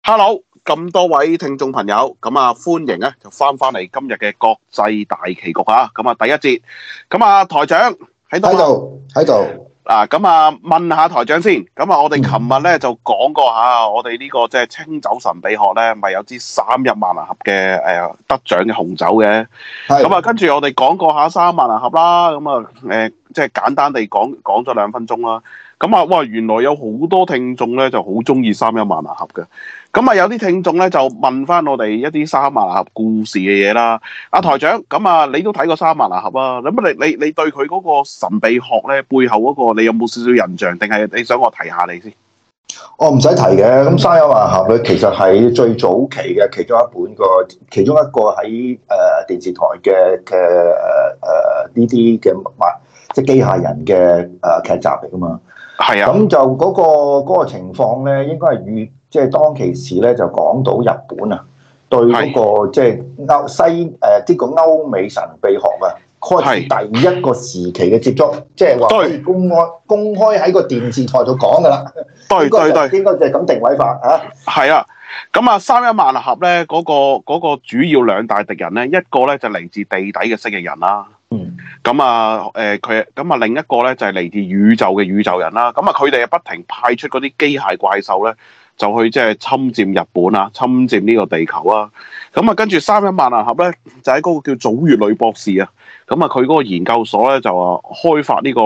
Hello，咁多位聽眾朋友，歡迎咧就翻嚟今日嘅國際大棋局啊！第一節，台長喺度喺度。 問下台長先。我哋琴日咧就講過下，我哋呢個即係清酒神秘學咧，咪有支31萬能盒嘅得獎嘅紅酒嘅。跟住我哋講過下31萬能盒啦。即係簡單地講咗2分鐘啦。哇！原來有好多聽眾咧就好中意31萬能盒嘅。有啲聽眾咧就問翻我哋一啲31萬能盒故事嘅嘢啦。台長，你都睇過31萬能盒啊？你對佢嗰個神秘學咧背後嗰個，你有冇少少印象？定係你想我提下你先？ 我唔使提嘅。咁31萬能盒佢其實係最早期嘅其中一個喺電視台嘅呢啲嘅即係機械人嘅劇集嚟噶嘛。係啊。咁就嗰個情況咧，應該係即係當其時咧就講到日本啊，對嗰個即係呢個歐美神秘學啊，開始第一個時期嘅接觸，即係話可以公開喺個電視台度講噶啦。對，應該就係咁定位法啊。係啊。 31萬能盒咧嗰個主要2大敵人咧，一個咧就嚟自地底嘅蜥蜴人啦。另一個咧就係嚟自宇宙嘅宇宙人啦。佢哋不停派出嗰啲機械怪獸咧，就去即係侵佔日本啊，侵佔呢個地球啊。跟住31萬能盒咧，就喺嗰個叫祖乙女博士啊。佢嗰個研究所咧就話開發呢個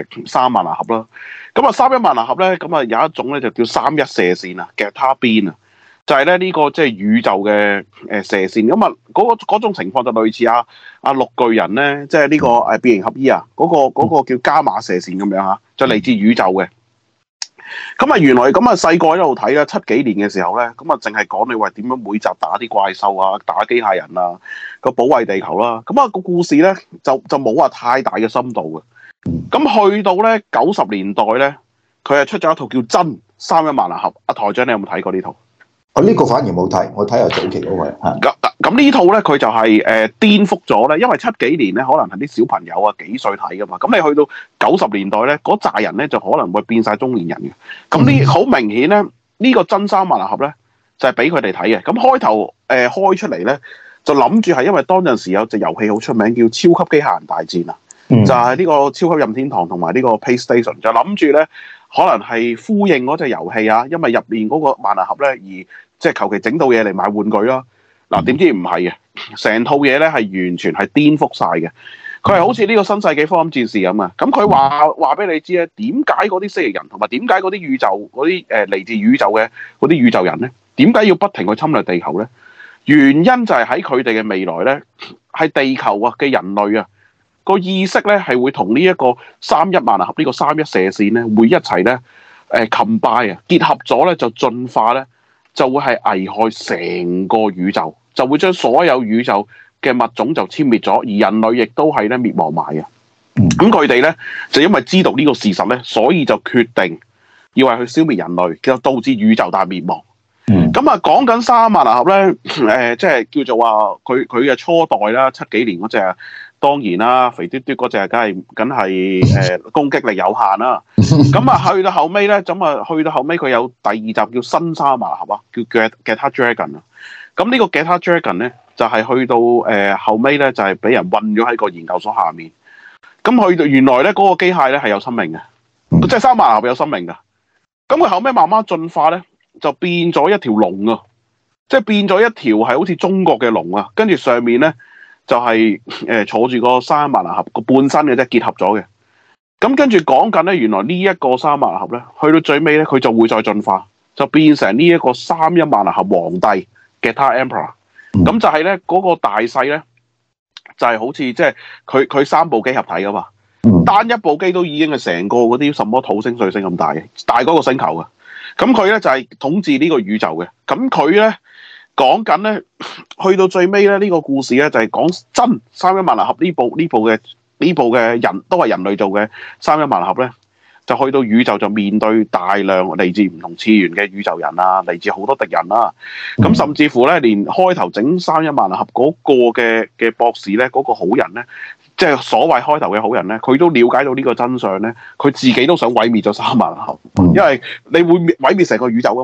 31萬能盒啦。31萬能盒咧，有一種咧就叫31射線啊，嘅他邊啊。就係咧呢個即係宇宙嘅射線。嗰種情況就類似綠巨人咧，即係呢個變形俠醫啊，嗰個叫伽馬射線咁樣嚇，就嚟自宇宙嘅。原來細個喺度睇啦，70幾年嘅時候咧，淨係講你話點樣每集打啲怪獸啊，打機械人啊，保衛地球啦。個故事咧就冇話太大嘅深度嘅。去到咧90年代咧，佢係出咗一套叫真31萬能盒。台長，你有冇睇過呢套？ 呢個反而冇睇，我睇下早期嗰個。 咁呢套咧，佢就係顛覆咗咧，因為70幾年咧，可能係啲小朋友啊幾歲睇噶嘛。你去到90年代咧，嗰扎人咧就可能會變晒中年人嘅。好明顯咧，呢個真31萬能盒咧就係俾佢哋睇嘅。開頭開出嚟咧，就諗住係因為當陣時有隻遊戲好出名，叫《超級機械人大戰》啊。就係呢個超級任天堂同埋呢個 PlayStation， 就諗住咧可能係呼應嗰隻遊戲啊，因為入面嗰個萬能盒咧而即係求其整到嘢嚟買玩具啦。點知唔係嘅，成套嘢咧係完全係顛覆晒嘅。佢係好似呢個新世紀福音戰士咁啊。佢話俾你知咧，點解嗰啲蜥蜴人同埋點解嗰啲宇宙嗰啲嚟自宇宙嘅嗰啲宇宙人咧，點解要不停去侵略地球咧？原因就係喺佢哋嘅未來咧，係地球啊嘅人類啊個意識咧係會同呢一個31萬能盒呢個31射線咧會一齊咧combine啊，結合咗咧就進化咧，就會係危害成個宇宙，就會將所有宇宙嘅物種就殲滅咗，而人類亦都係咧滅亡埋嘅。佢哋咧就因為知道呢個事實咧，所以就決定要係去消滅人類，就導致宇宙大滅亡。講緊31萬能盒咧，即係叫做話佢嘅初代啦，70幾年嗰隻。當然啦，肥嘟嘟嗰隻梗係攻擊力有限啦。去到後尾咧，去到後尾佢有第2集叫新31萬能盒啊，叫 Getter Dragon 啊。呢個 Getter Dragon 咧就係去到後尾咧就係俾人困咗喺個研究所下面。去到原來咧嗰個機械咧係有生命嘅，即係31萬能盒有生命㗎。佢後尾慢慢進化咧，就變咗一條龍啊，即係變咗一條係好似中國嘅龍啊，跟住上面咧。就係坐住個31萬能盒個半身嘅啫，結合咗嘅。跟住講緊咧，原來呢一個31萬能盒咧，去到最尾咧，佢就會再進化，就變成呢一個31萬能盒皇帝嘅 Getter Emperor。就係咧嗰個大細咧，就係好似即係佢3部機合體噶嘛。單一部機都已經係成個嗰啲什麼土星、水星咁大嘅，大嗰個星球嘅。佢咧就係統治呢個宇宙嘅。佢咧。講緊咧，去到最尾咧，呢個故事咧就係講真31萬能盒呢部嘅人都係人類做嘅31萬能盒咧，就去到宇宙就面對大量嚟自唔同次元嘅宇宙人啊，嚟自好多敵人啦。甚至乎咧，連開頭整31萬能盒嗰個嘅博士咧，嗰個好人咧，即係所謂開頭嘅好人咧，佢都了解到呢個真相咧，佢自己都想毀滅咗31萬能盒，因為你會毀滅成個宇宙噶嘛。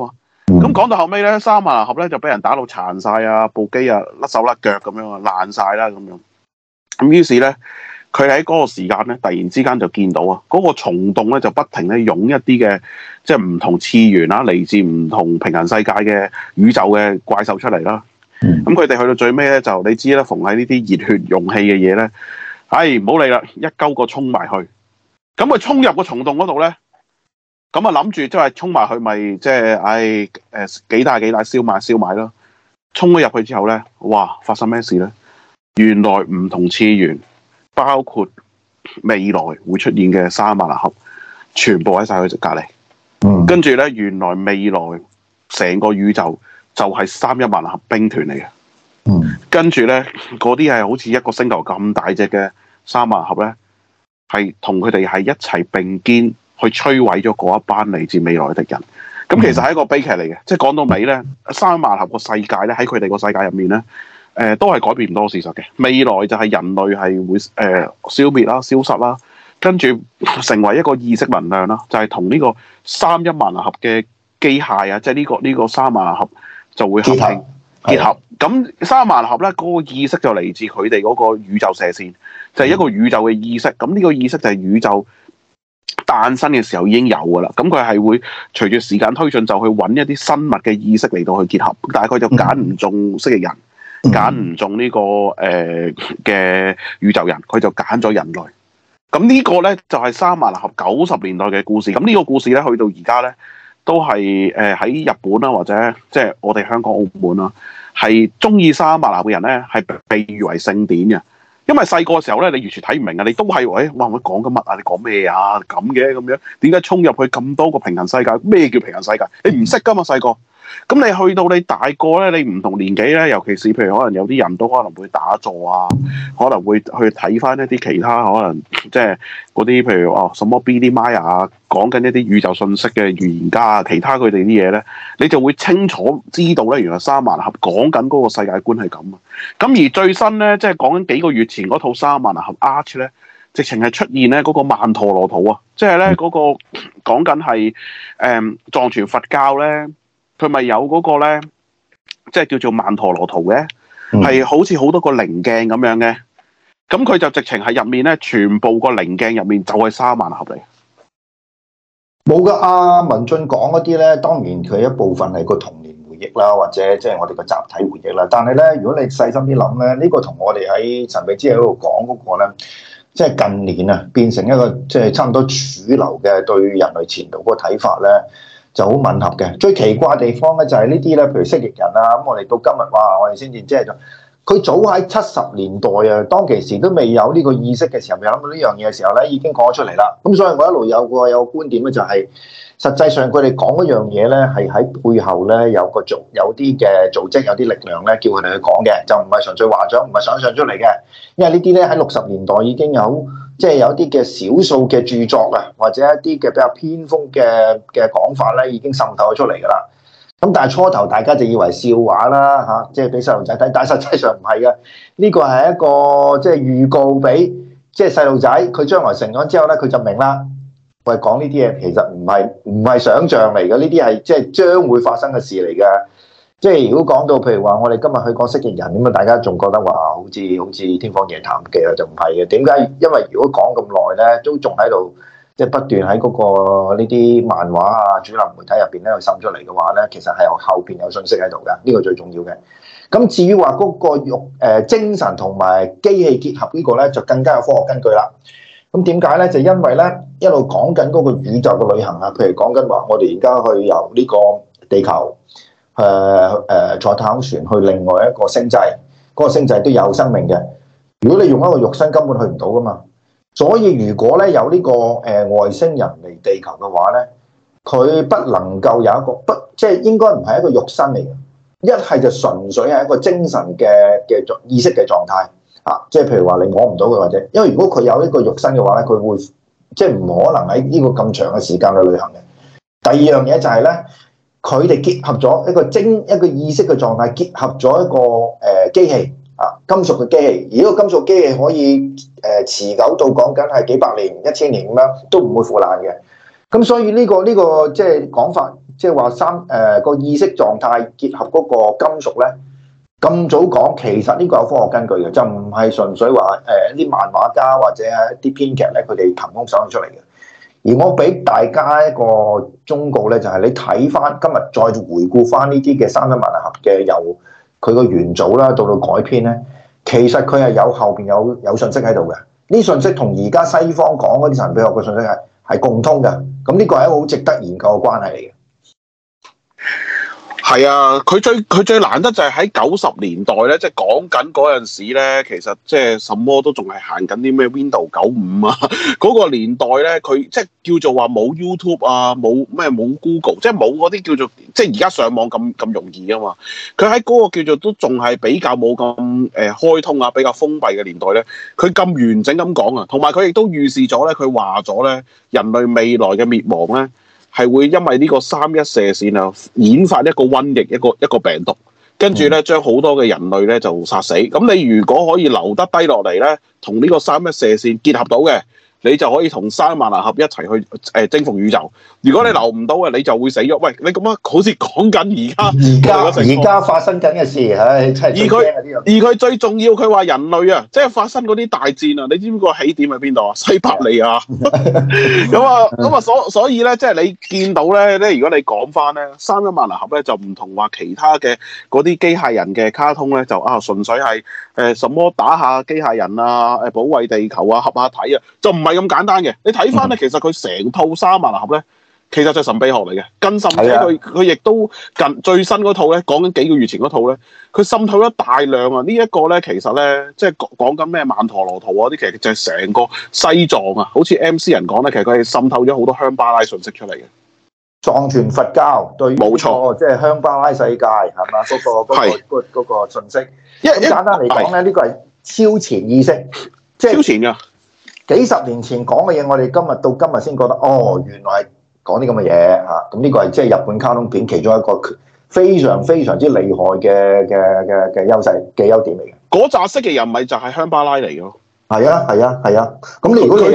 咁講到後尾咧，三萬盒咧就俾人打到殘晒啊，部機啊甩手甩腳咁樣啊，爛晒啦咁樣。咁於是咧，佢喺嗰個時間咧，突然之間就見到啊，嗰個蟲洞咧就不停咧湧一啲嘅即係唔同次元啦，嚟自唔同平行世界嘅宇宙嘅怪獸出嚟啦。咁佢哋去到最尾咧，就你知啦，逢喺呢啲熱血容器嘅嘢咧，唔好理啦，一鳩個衝埋去。咁佢衝入個蟲洞嗰度咧。咁啊諗住即係衝埋去咪即係幾大燒賣咯！衝咗入去之後咧，哇！發生咩事咧？原來唔同次元，包括未來會出現嘅三萬能盒，全部喺晒佢隔離。跟住咧，原來未來成個宇宙就係3.1萬能盒兵團嚟嘅。跟住咧，嗰啲係好似一個星球咁大隻嘅三萬能盒咧，係同佢哋係一齊並肩。去摧毀咗嗰一班嚟自未來嘅敵人，咁其實係一個悲劇嚟嘅。即係講到尾咧，3萬盒個世界咧，喺佢哋個世界入面咧，都係改變唔到事實嘅。未來就係人類係會消滅啦、消失啦，跟住成為一個意識能量啦，就係同呢個3.1萬能盒嘅機械啊，即係呢個3萬能盒就會合併結合。咁3萬能盒咧，嗰個意識就嚟自佢哋嗰個宇宙射線，就係一個宇宙嘅意識。咁呢個意識就係宇宙誕生嘅時候已經有㗎啦，咁佢係會隨住時間推進就去揾一啲生物嘅意識嚟到去結合，但係佢就揀唔中蜥蜴人，揀唔中呢個嘅宇宙人，佢就揀咗人類。咁呢個咧就係3萬能盒90年代嘅故事。咁呢個故事咧去到而家咧都係喺日本啦，或者即係我哋香港澳門啦，係中意3萬能盒嘅人咧係被譽為聖典嘅。因為細個嘅時候咧，你完全睇唔明啊！你都係哇，我講緊乜啊？你講咩啊？咁嘅咁樣，點解衝入去咁多個平行世界？咩叫平行世界？你唔識噶嘛細個。咁你去到你大個咧，你唔同年紀咧，尤其是譬如可能有啲人都可能會打坐啊，可能會去睇翻一啲其他可能即係嗰啲譬如什麼 Billy Maya 啊，講緊一啲宇宙信息嘅預言家啊，其他佢哋啲嘢咧，你就會清楚知道咧，原來3萬能盒講緊嗰個世界觀係咁啊。咁而最新咧，即係講緊幾個月前嗰套3萬能盒 Arch 咧，直情係出現咧嗰個曼陀羅圖啊，即係咧嗰個講緊係藏傳佛教咧。佢咪有嗰個咧，即係叫做曼陀羅圖嘅，係好似好多個棱鏡咁樣嘅。咁佢就直情係入面咧，全部個棱鏡入面就係3萬能盒嚟。 冇噶，阿文進講嗰啲咧，當然佢一部分係個童年回憶啦，或者即係我哋個集體回憶啦。但係咧，如果你細心啲諗咧，呢個同我哋喺神秘之夜嗰度講嗰個咧，即係近年啊，變成一個即係差唔多主流嘅對人類前途嗰個睇法咧。就好吻合嘅。最奇怪嘅地方咧就係呢啲咧，譬如蜥蜴人啊，咁我哋到今日哇，我哋先至即係佢早喺70年代啊，當其時都未有呢個意識嘅時候，未諗到呢樣嘢嘅時候咧，已經講咗出嚟啦。咁所以我一路有個觀點咧，就係實際上佢哋講嗰樣嘢咧，係喺背後咧有啲嘅組織，有啲力量咧，叫佢哋去講嘅，就唔係純粹話咗，唔係想象出嚟嘅。因為呢啲咧喺60年代已經有。即係有啲嘅少數嘅著作啊，或者一啲嘅比較偏鋒嘅講法咧，已經滲透咗出嚟㗎啦。咁但係初頭大家就以為笑話啦嚇，即係俾細路仔睇，但係實際上唔係嘅。呢個係一個即係預告俾即係細路仔，佢將來成咗之後咧，佢就明啦。喂，講呢啲嘢其實唔係想像嚟嘅，呢啲係即係將會發生嘅事嚟嘅。即係如果講到譬如話，我哋今日去講蜥蜴人咁啊，大家仲覺得話好似天方夜譚嘅，就唔係嘅。點解？因為如果講咁耐咧，都仲喺度即係不斷喺嗰個呢啲漫畫啊、主流媒體入邊咧去滲出嚟嘅話咧，其實係後邊有信息喺度嘅，呢個最重要嘅。咁至於話嗰個精神同埋機器結合呢個咧，就更加有科學根據啦。咁點解咧？就因為咧一路講緊嗰個宇宙嘅旅行啊，譬如講緊話，我哋而家去由呢個地球。坐太空船去另外一個星際，嗰個星際都有生命嘅。如果你用一個肉身，根本去唔到噶嘛。所以如果咧有呢個外星人嚟地球嘅話咧，佢不能夠有一個即係應該唔係一個肉身嚟嘅，一係就純粹係一個精神嘅意識嘅狀態啊。即係譬如話你摸唔到佢，或者因為如果佢有一個肉身嘅話咧，佢會即係唔可能喺呢個咁長嘅時間去旅行嘅。第二樣嘢就係咧。佢哋結合咗一個意識嘅狀態，結合咗一個機器啊，金屬嘅機器。而呢個金屬機器可以持久到講緊係幾百年、1000年咁樣，都唔會腐爛嘅。咁所以呢個即係講法， 即係話個意識狀態結合嗰個金屬咧，咁早講，其實呢個有科學根據嘅，就唔係純粹話一啲漫畫家或者係一啲編劇咧，佢哋憑空想出嚟嘅。而我俾大家一個忠告咧，就係你睇翻今日再回顧翻呢啲嘅三一萬能俠嘅由佢個元祖啦到改編咧，其實佢係有後邊有信息喺度嘅。呢信息同而家西方講嗰啲神秘學嘅信息係共通嘅。咁呢個係一個好值得研究嘅關係嚟嘅。 係啊，佢最難得就係喺90年代咧，即係講緊嗰陣時咧，其實即係什麼都仲係行緊啲咩 Windows 95啊，嗰個年代咧，佢即係叫做話冇 YouTube 啊，冇 Google， 即係冇嗰啲叫做即係而家上網咁容易啊嘛。佢喺嗰個叫做都仲係比較冇咁開通啊，比較封閉嘅年代咧，佢咁完整咁講啊，同埋佢亦都預示咗咧，佢話咗咧人類未來嘅滅亡咧，係會因為呢個31射線啊，演發一個瘟疫，一個病毒，跟住咧將好多嘅人類咧就殺死。咁你如果可以留得低落嚟咧，同呢個31射線結合到嘅，你就可以同三萬能俠一齊去征服宇宙。如果你留唔到嘅，你就會死咗。喂，你咁樣好似講緊而家發生緊嘅事，唉，真係而佢最重要，佢話人類啊，即係發生嗰啲大戰啊，你知唔知個起點喺邊度啊？西伯利亞。咁啊，所以咧，即係你見到咧，如果你講翻咧，三一萬能俠咧就唔同話其他嘅嗰啲機械人嘅卡通咧，就純粹係什麼打下機械人啊，保衛地球啊，合下體啊，就唔係咁簡單嘅。你睇翻咧，其實佢成套三一萬能俠咧，其實就係神秘學嚟嘅，更甚者佢亦都最新嗰套咧，講緊幾個月前嗰套咧，佢滲透咗大量啊！呢一個咧，其實咧，即係講緊咩曼陀羅圖啊啲，其實就係成個西藏啊，好似 MC 人講咧，其實佢係滲透咗好多香巴拉信息出嚟嘅。 藏傳佛教對冇錯，即係香巴拉世界係嘛？嗰個信息，咁簡單嚟講咧，呢個係超前意識，即係超前㗎。幾十年前講嘅嘢，我哋今日到今日先覺得，原來係講啲咁嘅嘢嚇。咁呢個係即係日本卡通片其中一個非常非常之厲害嘅優勢嘅優點嚟嘅。 嗰扎識嘅人咪就係香巴拉嚟嘅咯。 係啊。咁你如果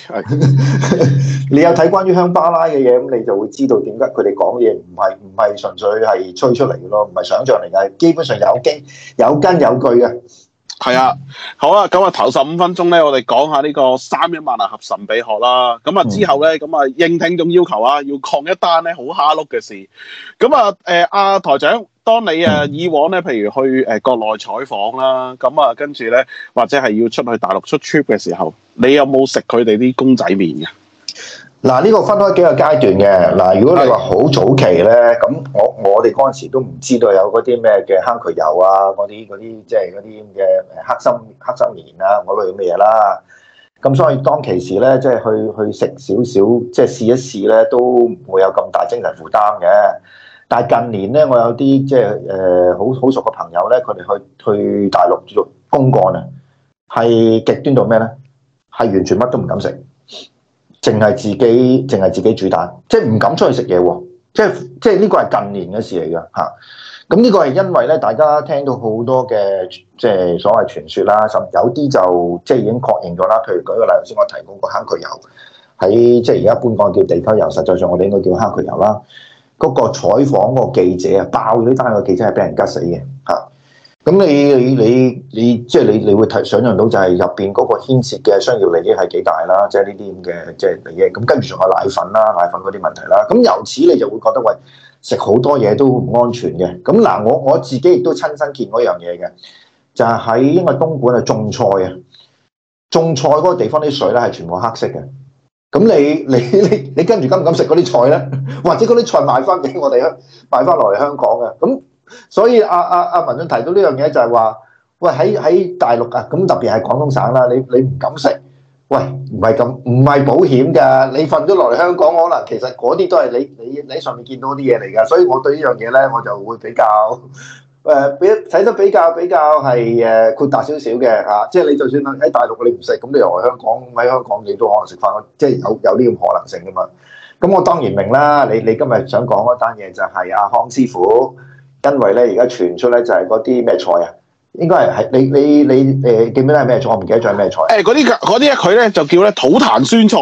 你有睇關於香巴拉嘅嘢，咁你就會知道點解佢哋講嘢唔係純粹係吹出嚟嘅咯，唔係想像嚟嘅，基本上有根有據嘅。 係啊，好啦，咁啊頭15分鐘咧，我哋講下呢個三一萬能俠神秘學啦。咁啊之後咧，咁啊應聽眾要求啊，要抗一單咧好蝦碌嘅事。咁啊阿台長，當你以往咧，譬如去國內採訪啦，咁啊跟住咧，或者係要出去大陸出 trip 嘅時候，你有冇食佢哋啲公仔麵嘅？ 嗱，呢個分開幾個階段嘅。嗱，如果你話好早期咧，咁我哋嗰陣時都唔知道有嗰啲咩嘅坑渠油啊，嗰啲即係嗰啲嘅黑心棉啊，嗰類嘅嘢啦。咁所以當其時咧，即係去食少少，即係試一試咧，都唔會有咁大精神負擔嘅。但係近年咧，我有啲即係好熟嘅朋友咧，佢哋去大陸做公幹啊，係極端到咩咧？係完全乜都唔敢食。淨係自己煮蛋，即係唔敢出去食嘢喎。即係呢個係近年嘅事嚟嘅嚇。咁呢個係因為咧，大家聽到好多嘅即係所謂傳說啦，甚至有啲就即係已經確認咗啦。譬如舉個例，頭先我提過個坑渠油，喺即係而家一般講叫地溝油，實際上我哋應該叫坑渠油啦。嗰個採訪嗰個記者啊，爆咗呢單個記者係俾人吉死嘅嚇。咁你即係你會想像到就係入邊嗰個牽涉嘅商業利益係幾大啦，即係呢啲咁嘅即係利益。咁跟住仲有奶粉啦、奶粉嗰啲問題啦。咁由此你就會覺得喂，食好多嘢都唔安全嘅。咁嗱，我自己亦都親身見過一樣嘢嘅，就係喺因為東莞係種菜啊，種菜嗰個地方啲水咧係全部黑色嘅。咁你跟住敢唔敢食嗰啲菜咧？或者嗰啲菜賣翻俾我哋賣翻落嚟香港嘅咁。所以阿文進提到呢樣嘢就係話，喂喺大陸啊，咁特別係廣東省啦，你唔敢食，喂唔係保險㗎，你瞓咗落嚟香港，可能其實嗰啲都係你喺上面見到啲嘢嚟㗎，所以我對呢樣嘢咧，我就會比較睇得比較係豁達少少嘅嚇，即係你就算喺大陸你唔食，咁你又喺香港你都可能食翻，即係有呢個可能性㗎嘛。咁我當然明啦，你今日想講嗰單嘢就係阿康師傅。因為咧，而家傳出咧就係嗰啲咩菜啊？應該係你記唔記得係咩菜？我唔記得咗係咩菜。嗰啲佢咧就叫咧土壇酸菜啊！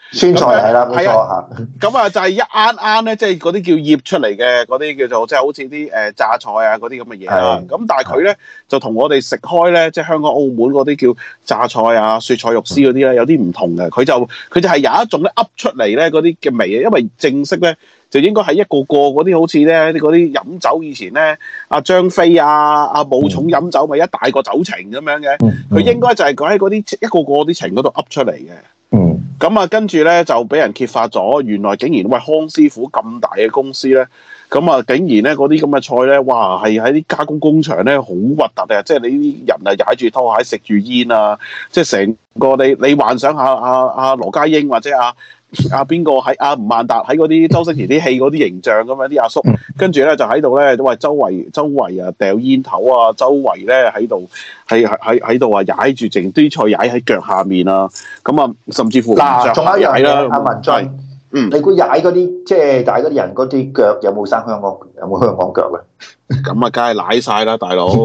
酸菜係啦，冇錯嚇。 咁啊就係一啱咧，即係嗰啲叫醃出嚟嘅嗰啲叫做即係好似啲榨菜啊嗰啲咁嘅嘢啦。咁但係佢咧就同我哋食開咧，即係香港澳門嗰啲叫榨菜啊、雪菜肉絲嗰啲咧有啲唔同嘅。佢就係有一種咧噏出嚟咧嗰啲嘅味啊，因為正式咧。就應該係一個嗰啲好似咧嗰啲飲酒以前咧，阿張飛阿武松飲酒咪一大個酒埕咁樣嘅，佢應該就係佢喺嗰啲一個啲埕嗰度噏出嚟嘅。咁啊，跟住咧就俾人揭發咗，原來竟然喂康師傅咁大嘅公司咧，咁啊竟然咧嗰啲咁嘅菜咧，哇係喺啲加工工場咧好核突啊！即係你啲人啊踩住拖鞋食住煙啊，即係成個你幻想下阿羅家英或者邊個喺吳孟達喺嗰啲周星馳啲戲嗰啲形象咁樣啲阿叔，跟住咧就喺度咧都話周圍啊掉煙頭啊，周圍咧喺度喺度啊踩住剩啲菜踩喺腳下面啊，咁啊甚至乎嗱，仲有一樣嘢，阿文進，你估踩嗰啲即係踩嗰啲人嗰啲腳有冇生香港腳咧？ 咁啊，梗係舐晒啦，大佬。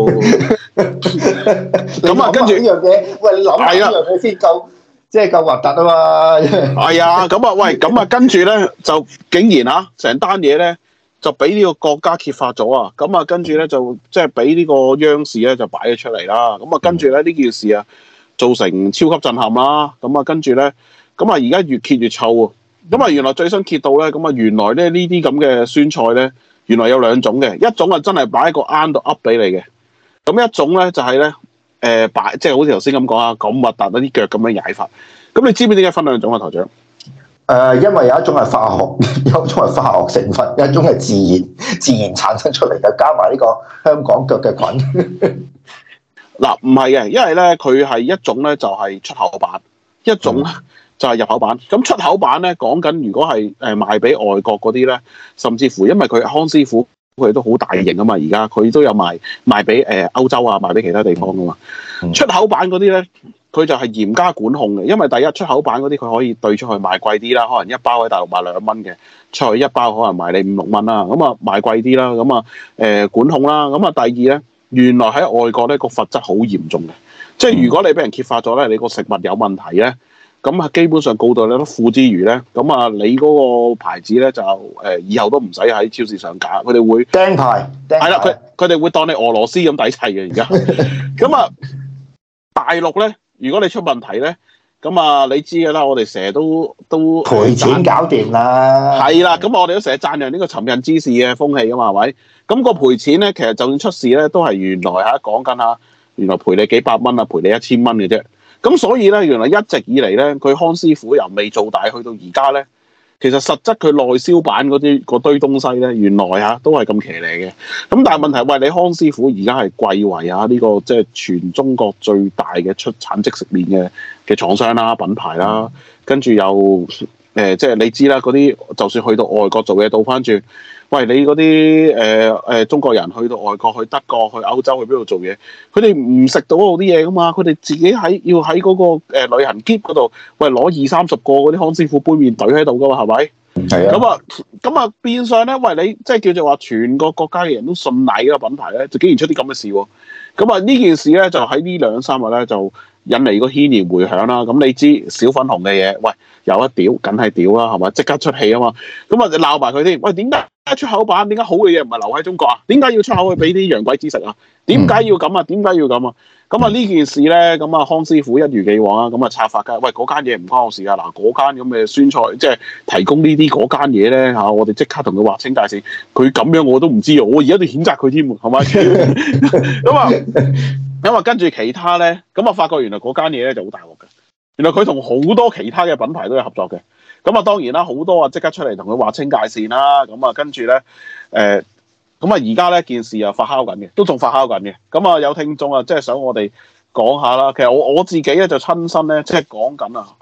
咁啊，跟住呢樣嘢，喂，你諗下呢樣嘢先夠。即係夠核突啊嘛！ 係啊，咁啊，喂，咁啊，跟住咧就竟然成單嘢咧就俾呢個國家揭發咗啊！咁啊，跟住咧就即係俾呢個央視咧就擺咗出嚟啦。咁啊，跟住咧呢件事啊造成超級震撼啦。咁啊，跟住咧咁啊，而家越揭越臭啊！咁啊，原來最新揭到咧，咁啊，原來咧呢啲咁嘅酸菜咧，原來有兩種嘅，一種啊真係擺喺個罌度噏俾你嘅，咁一種咧就係咧。即係好似頭先咁講啊，咁核突嗰啲腳咁樣踩法。咁你知唔知點解分兩種啊，台長？ 因為有一種係化學，有一種係化學成分，有一種係自然產生出嚟嘅，加埋呢個香港腳嘅菌。 嗱，唔係嘅，因為咧佢係一種咧就係出口版，一種咧就係入口版。咁出口版咧講緊，如果係賣俾外國嗰啲咧，甚至乎因為佢康師傅。佢都好大型啊嘛，而家佢都有賣俾歐洲啊，賣俾其他地方噶嘛。出口版嗰啲咧，佢就係嚴加管控嘅，因為第一出口版嗰啲佢可以對出去賣貴啲啦，可能一包喺大陸賣2蚊嘅，出去一包可能賣你5、6蚊啦，咁啊賣貴啲啦，咁啊管控啦，咁啊第二咧，原來喺外國咧個罰則好嚴重嘅，即係如果你俾人揭發咗咧，你個食物有問題咧。咁啊，基本上告到你都付之餘咧，咁啊，你嗰個牌子咧就以後都唔使喺超市上架，佢哋會釘牌， 係啦，佢哋會當你俄羅斯咁抵砌嘅而家。咁啊，大陸咧，如果你出問題咧，咁啊，你知嘅啦，我哋成日都賠錢搞掂啦。 係啦，咁我哋都成日讚揚呢個尋釁滋事嘅風氣啊嘛，係咪？咁個賠錢咧，其實就算出事咧，都係原來講緊原來賠你幾百蚊啊，賠你1000蚊嘅啫。咁所以咧，原來一直以嚟咧，佢康師傅由未做大去到而家咧，其實實質佢內銷版嗰堆東西咧，原來都係咁騎呢嘅。咁但係問題，喂，你康師傅而家係貴為呢個即係全中國最大嘅出產即食麵嘅廠商啦、品牌啦，跟住又即係你知啦，嗰啲就算去到外國做嘢，倒翻轉。喂，你嗰啲中國人去到外國，去德國、去歐洲、去邊度做嘢？佢哋唔食到嗰啲嘢噶嘛？佢哋自己要喺嗰個旅行篋嗰度，喂攞20-30個嗰啲康師傅杯麵隊喺度噶嘛？係咪？係啊。咁啊變相咧，喂你即係叫做話全個國家嘅人都信賴呢個品牌咧，就竟然出啲咁嘅事喎。咁啊呢件事咧就喺呢2-3日咧就引嚟個軒然迴響啦。咁你知小粉紅嘅嘢，喂有一屌，梗係屌啦，係咪？即刻出氣啊嘛。咁啊鬧埋佢添。喂，點解出口版？點解好嘅嘢唔係留喺中國啊？點解要出口去俾啲洋鬼子食啊？點解要咁啊？點解要咁啊？咁啊呢件事咧，咁啊康師傅一如既往啊，咁啊拆發㗎。喂，嗰間嘢唔關我事啊！嗱，嗰間咁嘅酸菜，即係提供呢啲嗰間嘢咧嚇，我哋即刻同佢劃清界線。佢咁樣我都唔知啊！我而家都譴責佢添，係咪？咁啊跟住其他咧，咁啊發覺原來嗰間嘢咧就好大鑊嘅。原來佢同好多其他嘅品牌都有合作嘅。咁啊當然啦，好多啊即刻出嚟同佢劃清界線啦。咁啊跟住咧咁啊而家咧件事又發酵緊嘅，都仲發酵緊嘅。咁啊有聽眾啊，即係想我哋講下啦。其實我自己咧就親身咧，即係講緊啊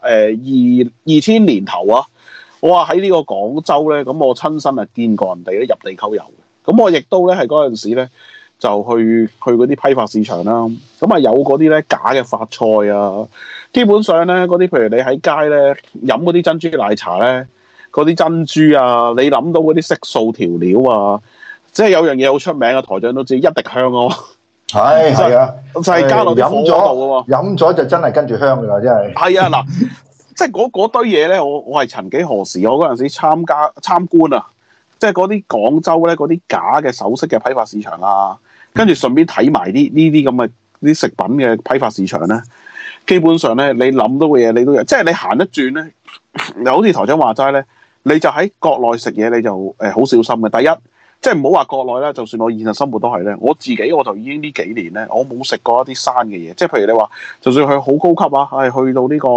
2000年頭啊，我話喺呢個廣州咧，咁我親身啊見過人哋咧入地溝油嘅。咁我亦都咧係嗰陣時咧就去嗰啲批發市場啦。咁啊有嗰啲咧假嘅發菜啊，基本上咧嗰啲譬如你喺街咧飲嗰啲珍珠奶茶咧，嗰啲珍珠啊，你諗到嗰啲色素調料啊。即係有樣嘢好出名嘅，台長都知一滴香咯。 係啊， 就係加落啲火嗰度嘅喎。 飲咗就真係跟住香㗎啦，真係。 係啊，嗱， 即係嗰堆嘢咧，我係曾幾何時，我嗰陣時參觀啊，即係嗰啲廣州咧嗰啲假嘅首飾嘅批發市場啊，跟住順便睇埋呢啲咁嘅啲食品嘅批發市場咧，基本上咧你諗到嘅嘢你都有，即係你行一轉咧，又好似台長話齋咧，你就喺國內食嘢你就好小心嘅。第一，即係唔好話國內啦，就算我現實生活都係咧，我自己我就已經呢幾年咧，我冇食過一啲生嘅嘢，即係譬如你話，就算佢好高級啊，係去到呢個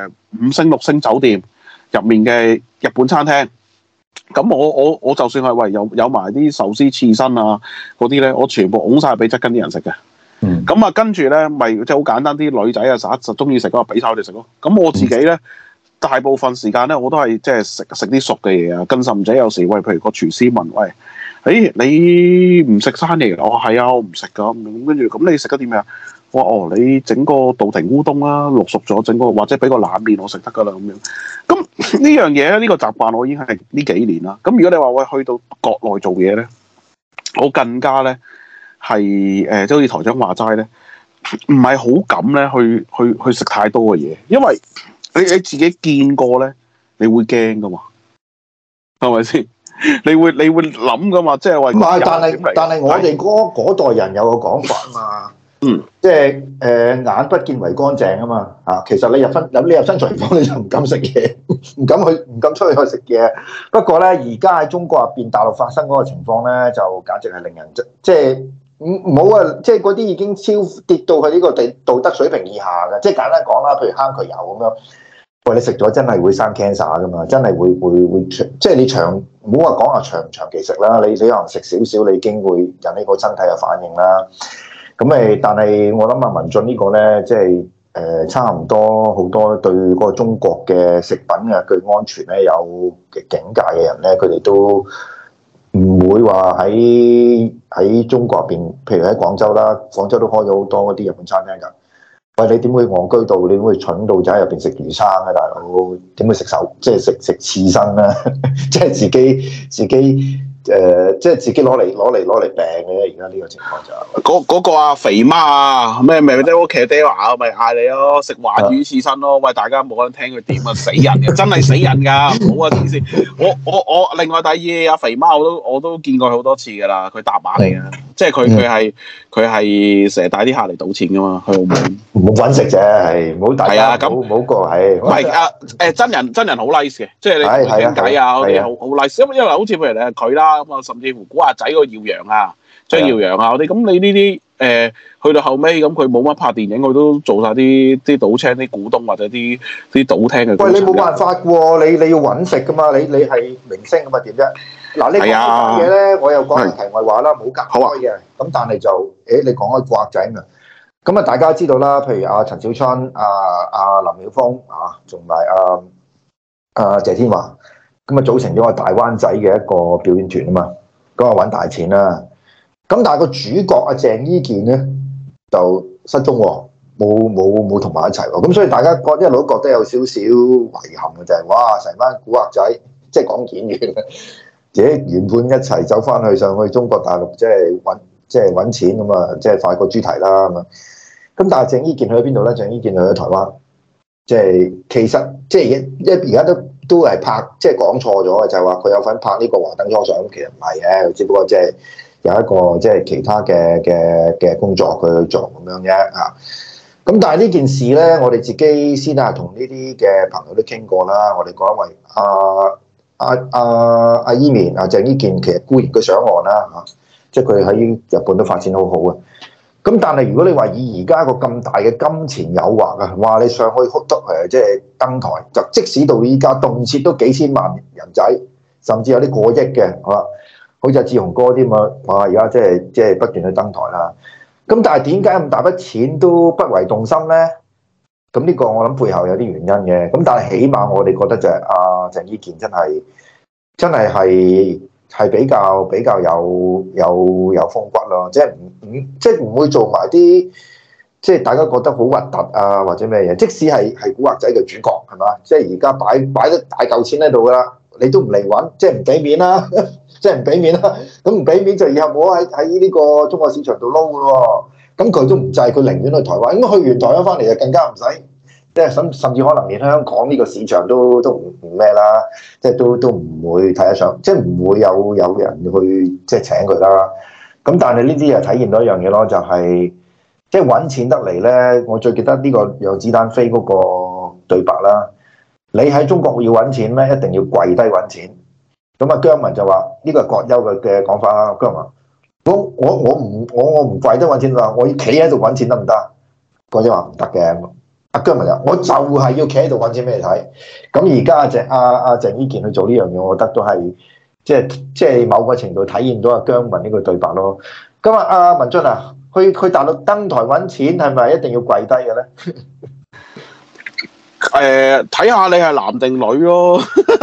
5星6星酒店入面嘅日本餐廳，咁我就算係喂有埋啲壽司刺身啊嗰啲咧，我全部拱晒俾側跟啲人食嘅。咁啊，跟住咧咪即係好簡單，啲女仔啊實中意食嗰個俾晒佢哋食咯。咁我自己咧。大部分時間咧，我都係即係食啲熟嘅嘢啊。更甚者有時喂，譬如個廚師問喂，你唔食生嘢？我話係啊，我唔食噶。咁跟住咁你食咗啲咩啊？我話你整個稻庭烏冬啦，淥熟咗整個，或者俾個冷麵我食得噶啦咁樣。咁呢樣嘢咧，呢個習慣我已經係呢幾年啦。咁如果你話喂去到國內做嘢咧，我更加咧係即係好似台長話齋咧，唔係好敢咧去食太多嘅嘢，因為你自己見過咧，你會驚噶嘛？係咪先？你會諗噶嘛？即係話唔係， 但係我哋嗰代人有個講法啊嘛。即係眼不見為乾淨啊嘛。其實你入新廚房你就唔敢食嘢，唔敢出去食嘢。不過咧，而家喺中國入邊、大陸發生嗰個情況咧，就簡直係令人即係唔好啊！即係嗰啲已經跌到去呢個道德水平以下嘅。即係簡單講啦，譬如坑渠油咁樣。喂，你食咗真係會生 cancer 噶嘛？真係會即係你唔好話講長唔長期食啦，你可能食少少，你已經會引起個身體嘅反應啦。咁但係我諗文進呢個咧，即係差唔多好多對嗰個中國嘅食品嘅佢安全咧有嘅警戒嘅人咧，佢哋都唔會話喺中國入邊，譬如喺廣州啦，廣州都開咗好多嗰啲日本餐廳㗎。喂，你點會戇居到？你點會蠢到就喺入邊食魚生啊，大佬？點會食即係食刺身咧？即係自己即係自己攞嚟病嘅。而家呢個情況就嗰個啊肥媽啊，咩即屋企爹話咪嗌你咯，食華魚刺身咯。喂，大家冇人聽佢點啊，死人嘅，真係死人㗎，唔好啊！黐線，我另外第二阿肥媽我都見過佢好多次㗎啦，佢搭馬嚟嘅，即係佢係成日帶啲客嚟賭錢㗎嘛，去澳門。 唔好揾食啫，係唔好大家唔好過係。 唔係真人好 nice 嘅，即係你同佢傾偈啊嗰啲好 nice。因為好似譬如你係佢啦，咁啊甚至乎古惑仔個耀揚啊、張耀揚啊嗰啲，咁你呢啲去到後尾咁佢冇乜拍電影，佢都做晒啲賭廳啲股東或者啲賭廳嘅。喂， 你冇辦法喎，你要揾食噶嘛，你係明星咁啊點啫？嗱，你講呢樣嘢咧，我又講題外話啦，冇隔開嘅。咁但係就你講開古惑仔啊。咁啊，大家知道啦，譬如阿陳小春、阿林曉峰啊，同埋阿謝天華，咁啊組成咗個大灣仔嘅一個表演團啊嘛，咁啊揾大錢啦。咁但係個主角阿鄭伊健咧就失蹤喎，冇同埋一齊喎。咁所以大家一路都覺得有少少遺憾嘅就係，哇！成班古惑仔即係講演員，自己原本一齊走翻去上去中國大陸，即係揾錢咁啊，即係快過豬蹄啦咁啊！咁但係鄭伊健去咗邊度咧？鄭伊健去咗台灣，即係其實即係而家都係拍，即係講錯咗嘅，就係話佢有份拍呢個華燈初上，其實唔係嘅，只不過即係有一個即係其他嘅工作佢去做咁樣啫嚇。咁但係呢件事咧，我哋自己先係同呢啲嘅朋友都傾過啦。我哋講因為阿伊綿鄭伊健其實固然佢上岸啦嚇，即係佢喺日本都發展好好啊。咁但係如果你話以而家個咁大嘅金錢誘惑啊，話你上去即係登台，就即使到依家動輒都幾千萬人仔，甚至有啲過億嘅，係嘛？好似阿志雄哥啲咁啊，哇！而家即係不斷去登台啦。咁但係點解咁大筆錢都不為動心咧？咁呢個我諗背後有啲原因嘅。咁但係起碼我哋覺得就係阿鄭伊健真係比較有風骨咯，即係唔會做埋啲即係大家覺得好核突啊或者咩嘢，即使係古惑仔嘅主角係嘛，即係而家擺得大嚿錢喺度噶啦，你都唔嚟揾，即係唔俾面啦，即係唔俾面啦，咁唔俾面就以後冇喺呢個中國市場度撈噶咯，咁佢都唔制，佢寧願去台灣，咁去完台灣翻嚟就更加唔使即係甚至可能連香港呢個市場都唔咩啦，即係都唔會睇得上，即係唔會有人去即係請佢啦。咁但係呢啲又體現到一樣嘢咯，就係即係揾錢得嚟咧。我最記得呢個讓子彈飛嗰個對白啦。你喺中國要揾錢咧，一定要跪低揾錢。咁啊，姜文就話呢個係葛優嘅講法啦。姜文，我唔跪低揾錢啦，我要企喺度揾錢得唔得？葛優話唔得嘅。阿姜文就我就係要企喺度揾錢俾你睇。咁而家阿鄭伊健去做呢樣嘢，我覺得都係即係某個程度體現到阿姜文呢個對白咯。咁啊，阿文進啊，去大陸登台揾錢係咪一定要跪低嘅咧？ 睇下你係男定女咯。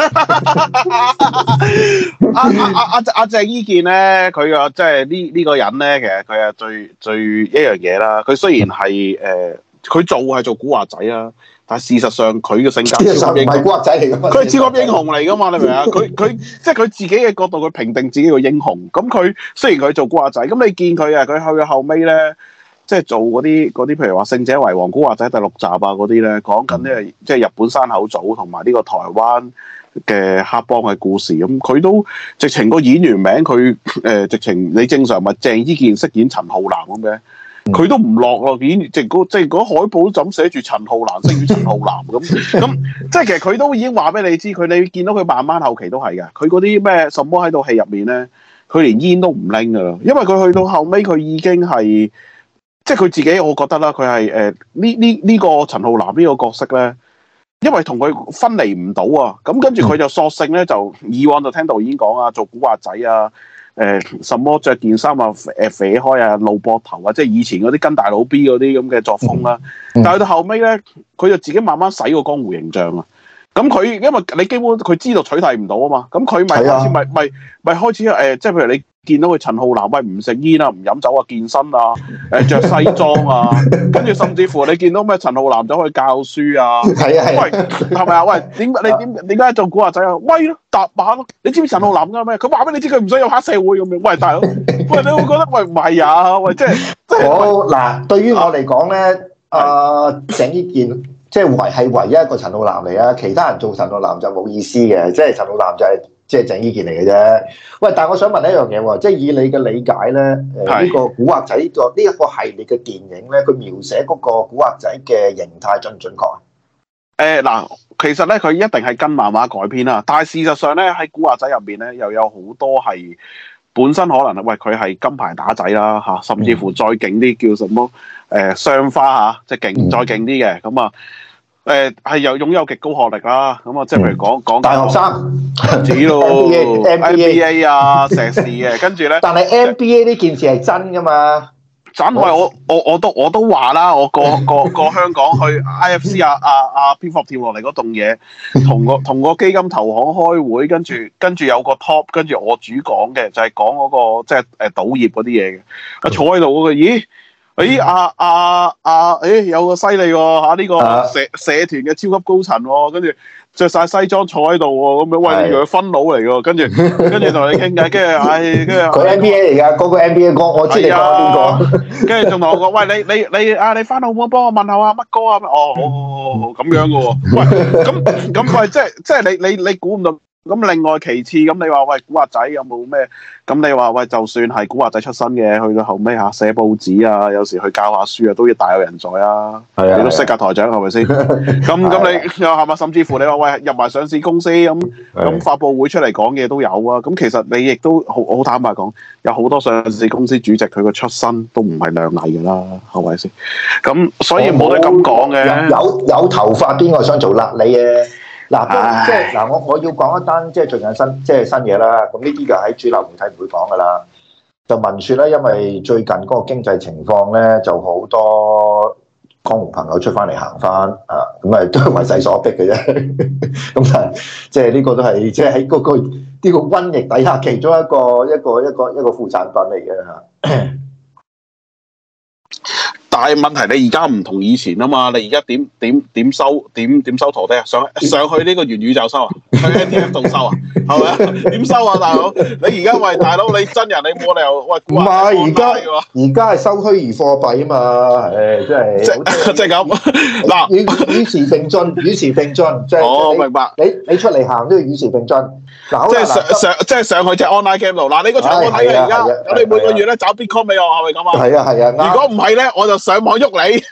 阿鄭伊健咧，佢個即係呢個人咧，其實佢係最一樣嘢啦。佢雖然係佢係做古惑仔啊，但係事實上佢嘅性格超級英雄，唔係古惑仔嚟噶嘛，佢係超級英雄嚟噶嘛，你明唔明啊？佢即係佢自己嘅角度，佢評定自己個英雄。咁佢雖然佢做古惑仔，咁你見佢啊，佢去到後尾咧，即係做嗰啲，譬如話《勝者為王》古惑仔第6集啊嗰啲咧，講緊咧即係日本山口組同埋呢個台灣嘅黑幫嘅故事。咁佢都直情個演員名佢直情你正常咪鄭伊健飾演陳浩南咁嘅。佢都唔落咯，即係嗰海報就咁寫住陳浩南飾演陳浩南咁，即係其實佢都已經話俾你知，你見到佢慢慢後期都係嘅。佢嗰啲咩什麼喺套戲入面咧，佢連煙都唔拎噶啦，因為佢去到後尾佢已經係即係佢自己，我覺得啦，佢係呢個陳浩南呢個角色咧，因為同佢分離唔到啊，咁跟住佢就索性咧就以往就聽導演講啊，做古惑仔啊。什麼着件衫啊，肥開啊，露膊頭啊，即係以前嗰啲跟大佬 B 嗰啲咁嘅作風啦。但係到後尾咧，佢就自己慢慢洗個江湖形象啊。咁佢因為你基本佢知道取締唔到啊嘛，咁佢咪開始咪開始即係譬如你見到佢陳浩南喂唔食煙啊，唔飲酒啊，健身啊，着西裝啊，跟住甚至乎你見到咩陳浩南走去教書啊，喂係咪啊？喂點解做古惑仔啊？威咯，搭馬咯！你知唔知陳浩南㗎咩？佢話俾你知佢唔想有黑社會咁樣。喂大佬，喂你會覺得喂唔係啊？喂即係好嗱，對於我嚟講咧，鄭伊健。即係唯一一個陳浩南嚟啊！其他人做陳浩南就冇意思嘅，即係陳浩南就係即係鄭伊健嚟嘅啫。喂，但係我想問一樣嘢喎，即係以你嘅理解咧，呢個古惑仔呢一個系列嘅電影咧，佢描寫嗰個古惑仔嘅形態準唔準確啊？ 嗱，其實咧佢一定係跟漫畫改編啦，但係事實上咧喺古惑仔入邊咧又有好多係本身可能喂佢係金牌打仔啦嚇，甚至乎再勁啲叫什麼雙花嚇，即係勁再勁啲嘅咁啊。係又擁有極高學歷啦，咁啊，即係譬如講大學生， 止咯 NBA 啊，碩士嘅，跟住咧， 但係 NBA 呢件事係真噶嘛？ 真係我都話啦，我過香港去 IFC 蝙蝠俠跳落嚟嗰棟嘢，同個基金投行開會，跟住有個 top， 跟住我主講嘅就係講嗰個即係賭業嗰啲嘢嘅，坐喺度嗰個，咦？有個犀利喎嚇，呢個社團嘅超級高層喎，跟住着晒西裝坐喺度喎，咁樣喂，你以為佢分佬嚟㗎？跟住同你傾偈，跟住佢 NBA 嚟㗎，嗰個 NBA 哥，我知你講邊個？ 跟住仲同我講，喂你翻澳門幫我問下乜哥啊？哦咁樣嘅喎，喂咁喂即係你估唔到。咁另外其次，咁你話喂古惑仔有冇咩？咁你話喂，就算係古惑仔出身嘅，去到後尾嚇寫報紙啊，有時去教下書啊，都要大有人在啊！你都識㗎台長係咪先？咁你又係咪？甚至乎你話喂入埋上市公司咁發佈會出嚟講嘢都有啊！咁其實你亦都好坦白講，有好多上市公司主席佢個出身都唔係亮麗㗎啦，係咪先？咁所以冇得咁講嘅。 有頭髮邊個想做癩痢嘅？嗱，即係嗱，我要講一單即係最近新嘢啦。咁呢啲就喺主流媒體唔會講噶啦。就聞説咧，因為最近嗰個經濟情況咧，就好多江湖朋友出翻嚟行翻啊，咁啊都係為勢所逼嘅啫。咁但係即係呢個都係即係喺嗰個呢個瘟疫底下其中一個副產品嚟嘅嚇。 但但係問題你而家唔同以前啊嘛，你而家點收陀地啊？上去呢個元宇宙收啊？去 NFT 度收啊？係咪啊？點收啊，大佬？你而家喂大佬，你真人你冇理由喂唔係而家係收虛擬貨幣啊嘛， 即係咁嗱， 與時並進，與時並進，即係我明白。 你出嚟行都要與時並進。嗱， 即係上去隻 online game 度。嗱，你個場我睇嘅而家，咁你每個月咧找 Bitcoin 俾我，係咪咁啊？ 係啊。 如果唔係咧，我就上網喐你。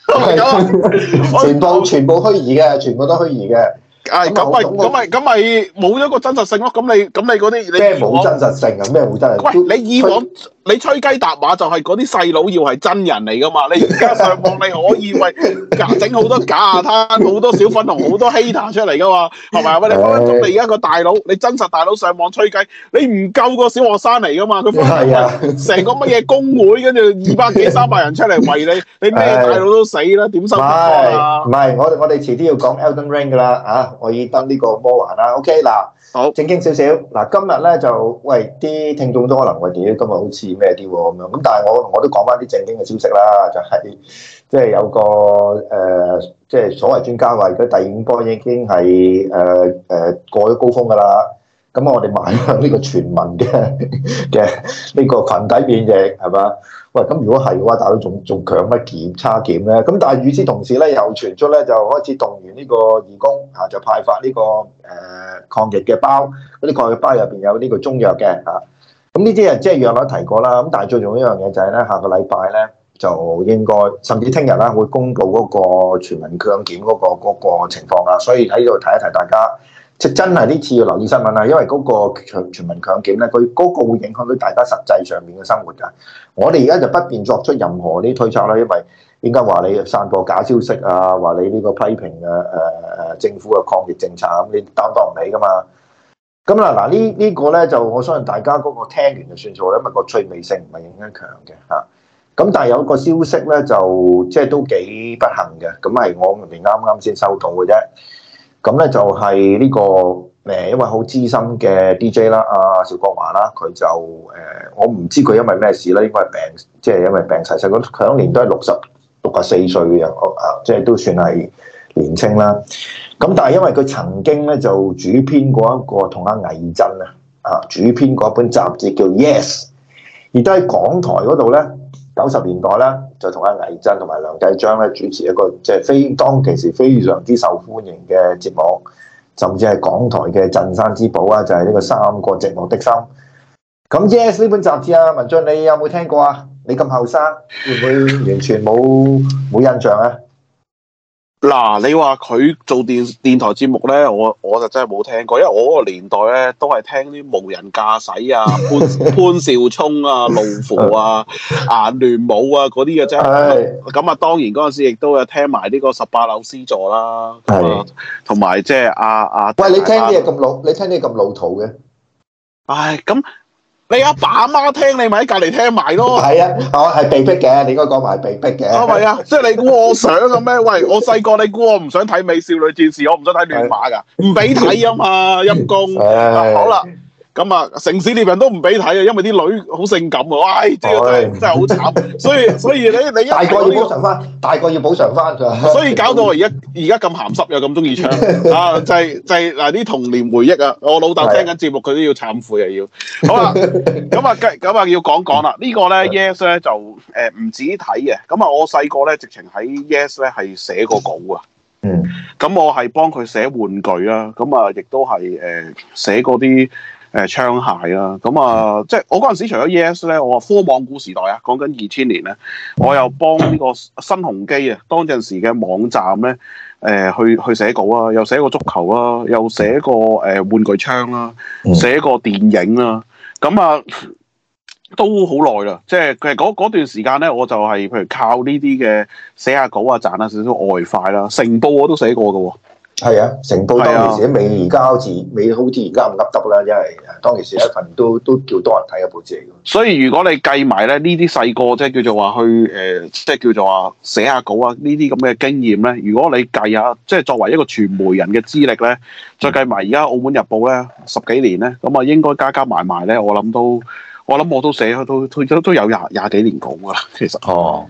全部虛擬嘅，全部都虛擬嘅。 咁咪冇咗個真實性咯。咁你嗰啲咩冇真實性啊？咩冇真實性？ 喂，你以往你吹雞搭馬就係嗰啲細佬要係真人嚟噶嘛？你而家上網你可以喂整好多假下攤，好多小粉紅，好多 hater 出嚟噶嘛？係咪啊？喂，你分分鐘你而家個大佬，你真實大佬上網吹雞，你唔夠個小學生嚟噶嘛？佢成個乜嘢工會，跟住200幾300人出嚟圍你，你咩大佬都死啦，點收得啊？ 唔係，我哋遲啲要講 Elden Ring 噶啦啊！我已登呢個魔環啦。OK 嗱，好正經少少嗱，今日咧就喂啲聽眾都可能喂屌今日好似咩啲喎咁樣，咁但係我都講翻啲正經嘅消息啦，就係即係有個即係所謂專家話，佢第5波已經係過咗高峰㗎啦。咁我哋邁向呢個全民嘅呢個群體免疫係嘛？喂，咁如果係嘅話，大佬仲強乜檢測檢咧？咁但係與此同時咧，又傳出咧就開始動員呢個義工嚇，就派發呢個抗疫嘅包，嗰啲抗疫包入邊有呢個中藥嘅嚇。咁呢啲即係藥率提過啦。咁但係最重要一樣嘢就係咧，下個禮拜咧就應該甚至聽日啦會公布嗰個全民強檢嗰個情況啦。所以喺度提一提大家。即真係呢次要留意新聞啦，因為嗰個全民強檢咧，佢嗰個會影響到大家實際上面嘅生活㗎。我哋而家就不便作出任何啲推測啦，因為應該話你散播假消息啊，話你呢個批評政府嘅抗疫政策咁，你擔當唔起㗎嘛。咁嗱呢個咧就我相信大家嗰個聽完就算數啦，因為個趣味性唔係影響強嘅嚇。咁但係有一個消息咧就即係都幾不幸嘅，咁係我哋啱啱先收到嘅啫。咁咧就係呢個一位好資深嘅 DJ 啦，阿邵國華啦，佢就我唔知佢因為咩事啦，應該係病，即係因為病逝世。佢嗰年都係64歲嘅人，即係都算係年青啦。咁但係因為佢曾經咧就主編過一個同阿倪震主編過一本雜誌叫 Yes， 而都喺港台嗰度咧90年代咧就同阿倪震同埋梁繼章咧主持一個即係當其時非常之受歡迎嘅節目，甚至係港台嘅鎮山之寶啊，就係呢個3個寂寞的心。咁 Yes 呢本雜誌啊，文進你有冇聽過啊？你咁後生，會唔會完全冇印象啊？ 嗱，你話佢做電台節目咧，我就真係冇聽過，因為我嗰個年代咧都係聽啲無人駕駛啊、潘少聰啊、路虎啊、顏聯武啊嗰啲嘅啫。咁啊，當然嗰陣時亦都有聽埋呢個18樓 C 座啦，同埋即係喂， 你聽啲嘢咁老，你聽啲咁老土嘅？ 唉，咁。你阿爸阿媽聽，你咪喺隔離聽埋咯。 係啊，我係被逼嘅，你應該講埋係被逼嘅。 係咪啊？即係你估我想嘅咩？喂，我細個你估我唔想睇美少女戰士，我唔想睇亂馬㗎，唔俾睇啊嘛，陰公。好啦。咁啊，城市獵人都唔俾睇啊，因為啲女好性感喎，唉，真係好慘。所以你大個要補償翻，大個要補償翻。 所以搞到我而家咁鹹濕又咁中意唱啊！就係嗱啲童年回憶啊！我老豆聽緊節目，佢都要懺悔啊要。好啦，咁啊要講啦。呢個咧 Yes 咧就唔止睇嘅。咁啊，我細個咧直情喺 Yes 咧係寫過稿啊。咁我係幫佢寫玩具啦。咁啊，亦都係寫嗰啲。槍械啦，咁啊，即係我嗰陣時除咗 Yes 咧，我話科網古時代啊，講緊2000年咧，我又幫呢個新鴻基啊，當陣時嘅網站咧，去寫稿啊，又寫過足球啦，又寫過玩具槍啦，寫過電影啦，咁啊都好耐啦，即係其實嗰段時間咧，我就係譬如靠呢啲嘅寫下稿啊，賺下少少外快啦，成報我都寫過㗎喎。 係啊，成報當其時未而家好似而家咁噏得啦，因為當其時一份都叫多人睇嘅報紙嚟嘅。 所以如果你計埋咧呢啲細個即係叫做話去即係叫做話寫下稿啊呢啲咁嘅經驗咧，如果你計下即係作為一個傳媒人嘅資歷咧，再計埋而家澳門日報咧10幾年咧，咁啊應該加埋埋咧，我諗我都寫都有廿幾年稿㗎啦，其實。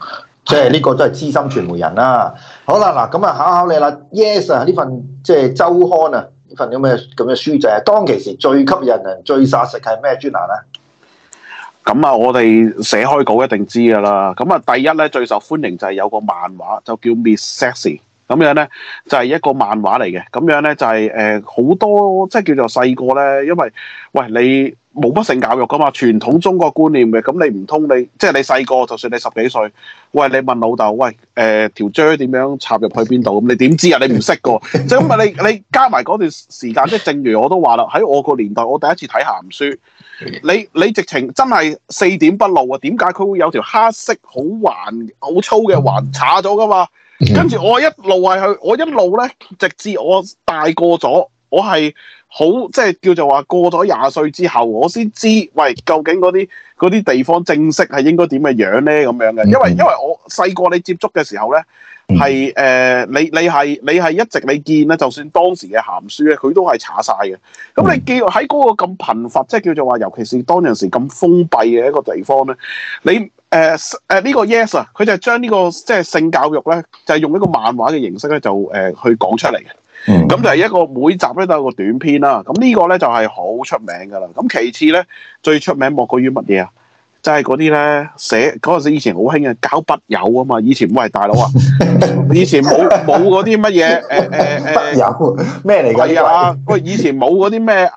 即係呢個都係資深傳媒人啦。好啦，嗱咁啊，考你啦。Yes 啊，呢份即係週刊啊，呢份咁嘅書仔，當其時最吸引人、最殺食係咩專欄啊？ 咁啊，我哋寫開稿一定知㗎啦。咁啊，第一咧最受歡迎就係有個漫畫，就叫 Miss Sexy。咁樣咧就係一個漫畫嚟嘅。咁樣咧就係好多即係叫做細個咧，因為喂你冇乜性教育㗎嘛，傳統中國觀念嘅。咁你唔通你即係你細個，就算你10幾歲，喂你問老豆，喂條啫點樣插入去邊度？咁你點知啊？你唔識㗎。即係咁啊！你加埋嗰段時間，即係正如我都話啦，喺我個年代，我第一次睇鹹書。你直情真係4點不露啊？點解佢會有條黑色好橫好粗嘅環叉咗㗎嘛？跟住我一路咧，直至我大個咗，我係好即係叫做話過咗20歲之後，我先知喂究竟嗰啲地方正式係應該點嘅樣咧咁樣嘅。因為我細個你接觸嘅時候咧，係你係一直你見咧，就算當時嘅鹹書咧，佢都係查晒嘅。咁你見喺嗰個咁貧乏，即係叫做話，尤其是當陣時咁封閉嘅一個地方咧，你呢個 Yes 啊，佢就係將呢個即係性教育咧，就係用一個漫畫嘅形式咧，就去講出嚟嘅。咁就係一個每集咧都有個短篇啦。咁呢個咧就係好出名㗎啦。咁其次咧，最出名莫過於乜嘢啊？就係嗰啲咧寫嗰陣時以前好興嘅交筆友啊嘛。以前喂大佬啊，以前冇嗰啲乜嘢筆友咩嚟㗎？ 係啊，喂以前冇嗰啲咩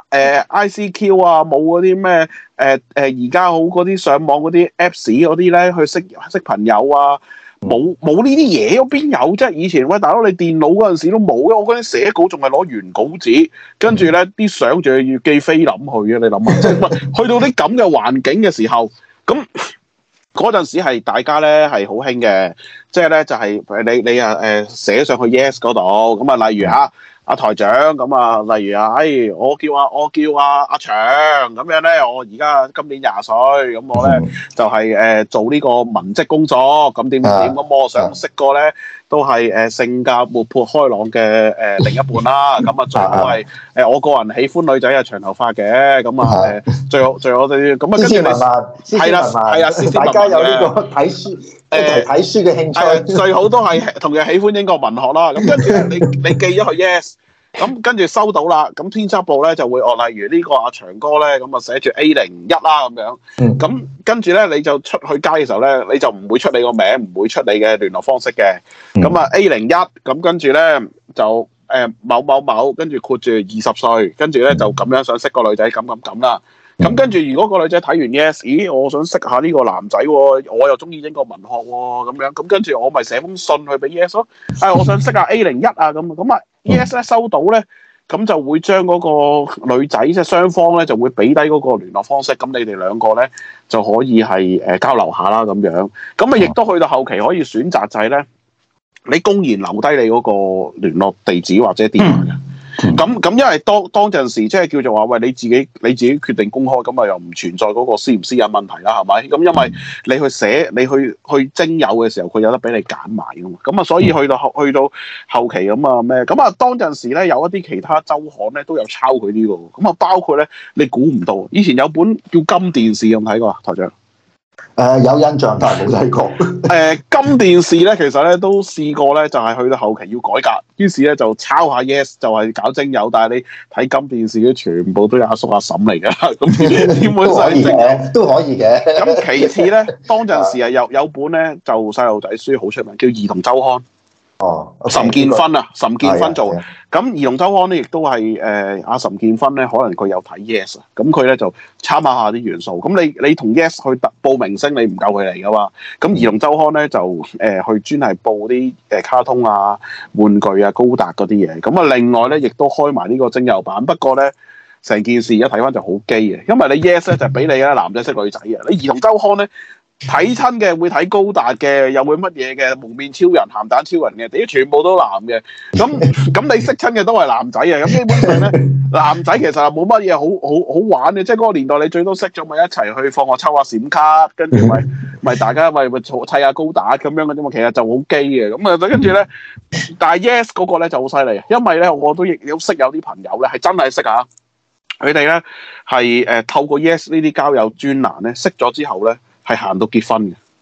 ICQ 啊，冇嗰啲咩而家好嗰啲上網嗰啲 Apps 嗰啲咧去識朋友啊。冇呢啲嘢，邊有啫？以前喂大佬，你電腦嗰陣時都冇嘅。我嗰陣寫稿仲係攞原稿紙，跟住咧啲相仲要寄菲林去嘅。你諗下，即係去到啲咁嘅環境嘅時候，咁嗰陣時係大家咧係好興嘅，即係咧就係你啊寫上去 Yes 嗰度，咁啊例如嚇阿台長咁啊，例如啊，我叫阿長咁樣咧，我而家今年20歲，咁我咧就係做呢個文職工作，咁點咁我想識個咧都係性格活潑開朗嘅另一半啦，咁啊最好係我個人喜歡女仔係長頭髮嘅，咁啊最好哋咁啊跟住你係啦，大家有呢個睇書睇書嘅興趣， 最好都係同樣喜歡英國文學啦，咁跟住你寄咗去 Yes。咁跟住收到啦，咁編輯部咧就會例如呢個阿長哥咧，咁啊寫住 A01啦咁樣，咁跟住咧你就出去街嘅時候咧，你就唔會出你個名，唔會出你嘅聯絡方式嘅，咁啊 A01，咁跟住咧就某某某，跟住括住20歲，跟住咧就咁樣想識個女仔咁啦，咁跟住如果個女仔睇完 Yes， 咦我想識下呢個男仔喎，我又中意英國文學喎，咁樣咁跟住我咪寫封信去俾 Yes 咯，我想識下 A01啊咁啊。Yes 咧收到咧，咁就會將嗰個女仔即係雙方咧就會俾低嗰個聯絡方式，咁你哋兩個咧就可以係交流下啦咁樣。咁啊亦都去到後期可以選擇就係咧，你公然留低你嗰個聯絡地址或者電話嘅。咁因為當陣時即係叫做話喂你自己決定公開，咁啊又唔存在嗰個私唔私隱問題啦，係咪？咁因為你去寫你去徵友嘅時候，佢有得俾你揀埋噶嘛。咁啊，所以去到後期咁啊咩？咁啊當陣時咧有一啲其他週刊咧都有抄佢呢個。咁啊包括咧你估唔到，以前有本叫《金電視》，有冇睇過啊，台長？ 有印象，但係冇睇過。 金電視咧，其實咧都試過咧，就係去到後期要改革，於是咧就抄下 Yes， 就係搞徵友。但係你睇金電視咧，全部都有阿叔阿嬸嚟㗎，咁點會使徵友？ 都可以嘅。 咁其次咧，當陣時啊有本咧就細路仔書好出名，叫《兒童週刊》。 哦， 岑建勳啊，岑建勳做。咁兒童週刊咧，亦都係阿岑建勳咧，可能佢有睇 Yes 啊，咁佢咧就參考下啲元素。咁你同 Yes 去報明星，你唔夠佢嚟噶嘛？咁兒童週刊咧就去專係報啲卡通啊、玩具啊、高達嗰啲嘢。咁啊，另外咧亦都開埋呢個徵友版。不過咧，成件事而家睇翻就好基嘅，因為你 Yes 咧就俾你啦，男仔識女仔啊。你兒童週刊咧。睇親嘅會睇高達嘅，又會乜嘢嘅蒙面超人、鹹蛋超人嘅，啲全部都男嘅。咁你識親嘅都係男仔啊。咁基本上咧，男仔其實冇乜嘢好玩嘅，即係嗰個年代你最多識咗咪一齊去放學抽下閃卡，跟住咪大家咪砌下高達咁樣嘅啫嘛。其實就好基嘅。咁啊跟住咧，但係 Yes 嗰個咧就好犀利，因為咧我都亦有識有啲朋友咧係真係識下，佢哋咧係透過 Yes 呢啲交友專欄咧識咗之後咧。係行到結婚嘅，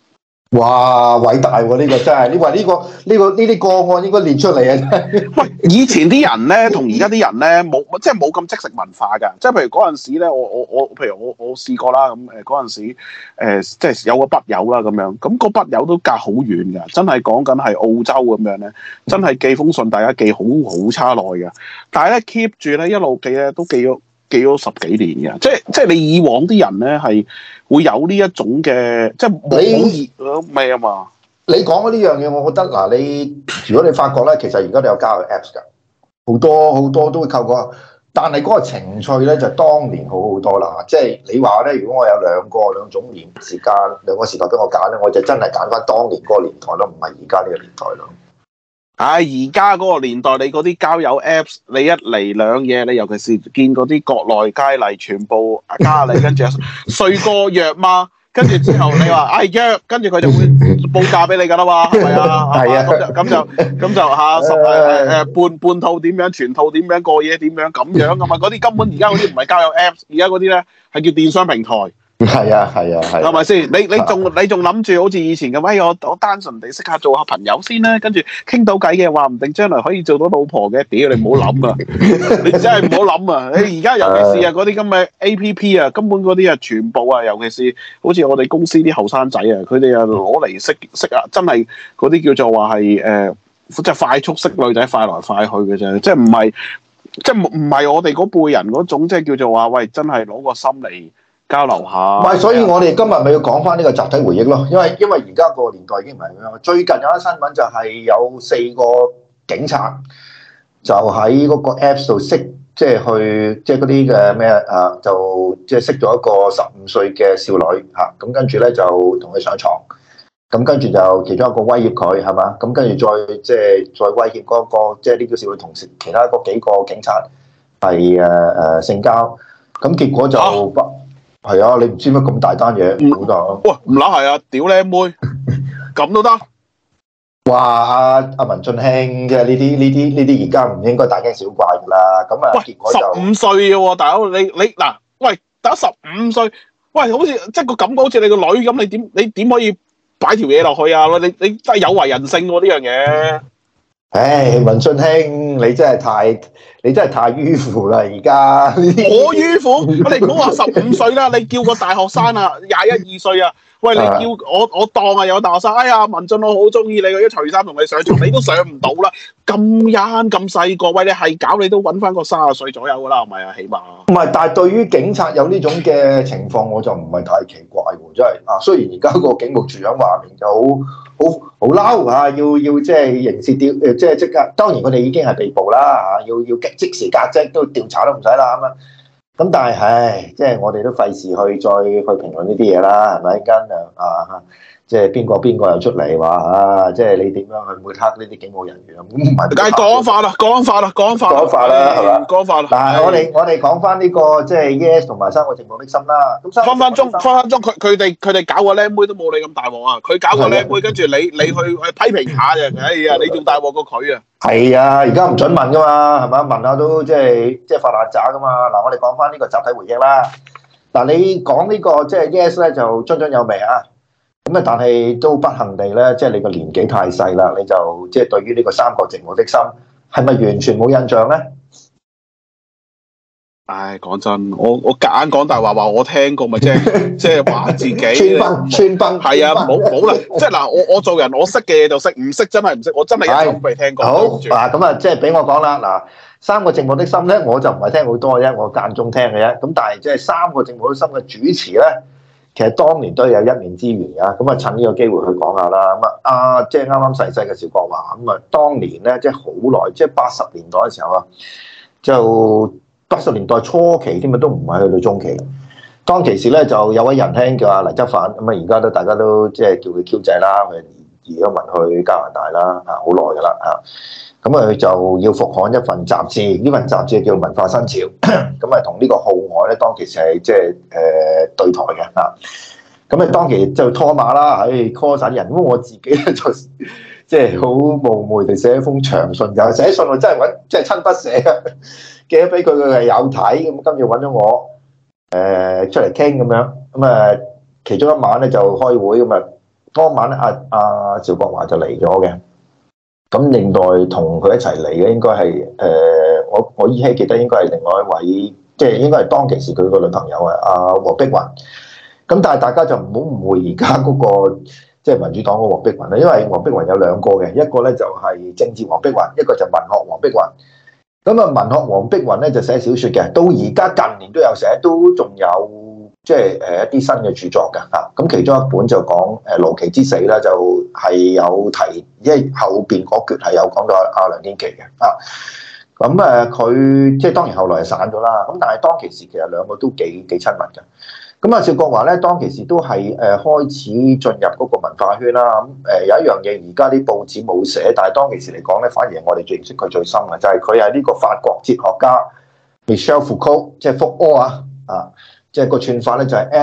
哇！偉大喎、呢個真係，你話呢啲個案應該列出嚟啊！真係喂，以前啲人咧，同而家啲人咧，即係冇咁即食文化㗎。即係譬如嗰陣時咧，譬如我試過啦，咁嗰陣時即係有個筆友啦咁樣，咁個筆友都隔好遠㗎，真係講緊係澳洲咁樣咧，真係寄封信大家寄好差耐㗎。但係咧 keep 住咧一路寄咧都寄咗10幾年嘅，即係你以往啲人咧係會有呢一種嘅，即係冇熱咩啊嘛。 你講嘅呢樣嘢，我覺得嗱，如果你發覺咧，其實而家都有交友 Apps 㗎，好多都會透過，但係嗰個情趣咧就當年好多啦。即係你話咧，如果我有兩種時間兩個時代俾我揀咧，我就真係揀翻當年嗰個年代咯，唔係而家呢個年代咯。 唉，而家嗰個年代，你嗰啲交友 Apps，你一嚟兩嘢，你尤其是見嗰啲國內佳麗全部加你，跟住睡過約嗎？跟住之後你話唉約，跟住佢就會報價俾你㗎啦嘛，係咪啊？ 係啊， 咁就嚇半套點樣，全套點樣，過夜點樣咁樣㗎嘛？嗰啲根本而家嗰啲唔係交友 Apps，而家嗰啲咧係叫電商平台。 係啊， 係咪先？你仲諗住好似以前咁？哎，我單純地識下做下朋友先啦，跟住傾到偈嘅話，唔定將來可以做到老婆嘅。屌你唔好諗啊！你真係唔好諗啊！你而家尤其是啊嗰啲咁嘅 APP 啊，根本嗰啲啊全部啊，尤其是好似我哋公司啲後生仔啊，佢哋啊攞嚟識啊，真係嗰啲叫做話係即係快速識女仔快來快去嘅啫，即係唔係我哋嗰輩人嗰種，即係叫做話喂，真係攞個心嚟交流下。 唔係，所以我哋今日咪要講翻呢個集體回憶咯。因為而家個年代已經唔係咁樣。最近有一新聞就係有4個警察就喺嗰個 Apps 度識，即係嗰啲嘅咩啊，就即係識咗一個15歲嘅少女嚇。咁跟住咧就同佢上床，咁跟住就其中一個威脅佢係嘛，咁跟住再威脅嗰個即係呢個少女同時其他嗰幾個警察係性交，咁結果就係啊！你唔知乜咁大單嘢，好大咯。 哇！唔乸係啊！屌靚妹，咁都得？ 哇！阿文俊卿嘅呢啲而家唔應該大驚小怪噶啦。咁啊，結果就 15歲嘅喎，大佬你嗱，喂，打15歲，喂，好似即係個感覺好似你個女咁，你點可以擺條嘢落去啊？你真係有違人性喎呢樣嘢。 唉，文俊卿，你真係太迂腐啦！而家我迂腐，你唔好話15歲啦，你叫個大學生啊，21、22歲啊，喂，你叫我當啊有大學生，哎呀，文俊我好中意你，我一除衫同你上床，你都上唔到啦，咁咁細個，喂，你係搞你都揾翻個30歲左右噶啦，係咪啊？起碼唔係，但係對於警察有呢種嘅情況，我就唔係太奇怪喎，真係啊！雖然而家個警務處長話明就好嬲嚇，要即係刑事即刻，當然佢哋已經係被捕啦嚇，要即時革職都調查都唔使啦咁啊。咁但係唉，即係我哋都費事再去評論呢啲嘢啦，係咪？跟即係邊個又出嚟話啊？即係你點樣去抹黑呢啲警務人員啊？咁唔係， 梗係講法啦，係嘛？講法啦。 嗱，我哋講翻呢個即係 Yes 同埋3個寂寞的心啦。咁分分鐘，佢哋搞個靚妹都冇你咁大鑊啊！佢搞個靚妹，跟住你去批評下啫。哎呀，你仲大鑊過佢啊！ 係啊，而家唔准問噶嘛，係嘛？問下都即係發爛渣噶嘛。嗱，我哋講翻呢個集體回憶啦。嗱，你講呢個即係 Yes 咧，就津津有味啊。咁啊，但係都不幸地咧，即係你個年紀太細啦，你就即係對於呢個3個寂寞的心係咪完全冇印象咧？ 唉，講真，我夾硬講大話我聽過，咪即係話自己穿崩係啊，冇啦，即係嗱，我做人我識嘅嘢就識，唔識真係唔識，我真係一啲都未聽過。 好嗱，咁啊，即係俾我講啦，嗱，3個寂寞的心咧，我就唔係聽好多嘅啫，我間中聽嘅啫。咁但係即係3個寂寞的心嘅主持咧，其實當年都有一面之緣㗎。咁啊，趁呢個機會去講下啦。咁啊，即係啱啱逝世嘅邵國華，咁啊，當年咧即係好耐，即係80年代嘅時候啊，就80年代初期添啊，都唔係去到中期。當其時咧，就有位仁兄叫阿黎則反，咁啊，而家都大家都即係叫佢 Q 仔啦，佢移咗民去加拿大啦，好耐㗎啦嚇。咁啊，佢就要復刊一份雜誌，呢份雜誌叫《文化新潮》，咁啊，同呢個號外咧，當其時係即係對台嘅嚇。咁啊，當期就拖馬啦，call 曬人。咁我自己咧就即係好冒昧地寫一封長信，就寫信我真係揾即係親筆寫嘅，寄咗俾佢，佢係有睇，咁跟住揾咗我出嚟傾咁樣。咁啊，其中一晚咧就開會，咁啊當晚咧趙國華就嚟咗嘅。咁另外同佢一齊嚟嘅應該係我依稀記得應該係另外一位，即係應該係當其時佢個女朋友啊，黃碧雲。咁但係大家就唔好誤會而家嗰個即係民主黨嘅黃碧雲啦，因為黃碧雲有兩個嘅，一個咧就係政治黃碧雲，一個就文學黃碧雲。咁啊，文學黃碧雲咧就寫小説嘅，到而家近年都有寫，都仲有即係一啲新嘅著作嘅嚇。咁其中一本就講盧岐之死咧，就係有提，因為後邊嗰橛係有講到阿梁天琦嘅啊。咁佢即係當然後來係散咗啦。咁但係當其時其實兩個都幾親密嘅。咁啊，趙國華咧當其時都係開始進入嗰個文化圈啦。咁有一樣嘢而家啲報紙冇寫，但係當其時嚟講咧，反而我哋最認識佢最深嘅就係佢係呢個法國哲學家 Michel Foucault， 即係福柯啊，即係個串法咧就係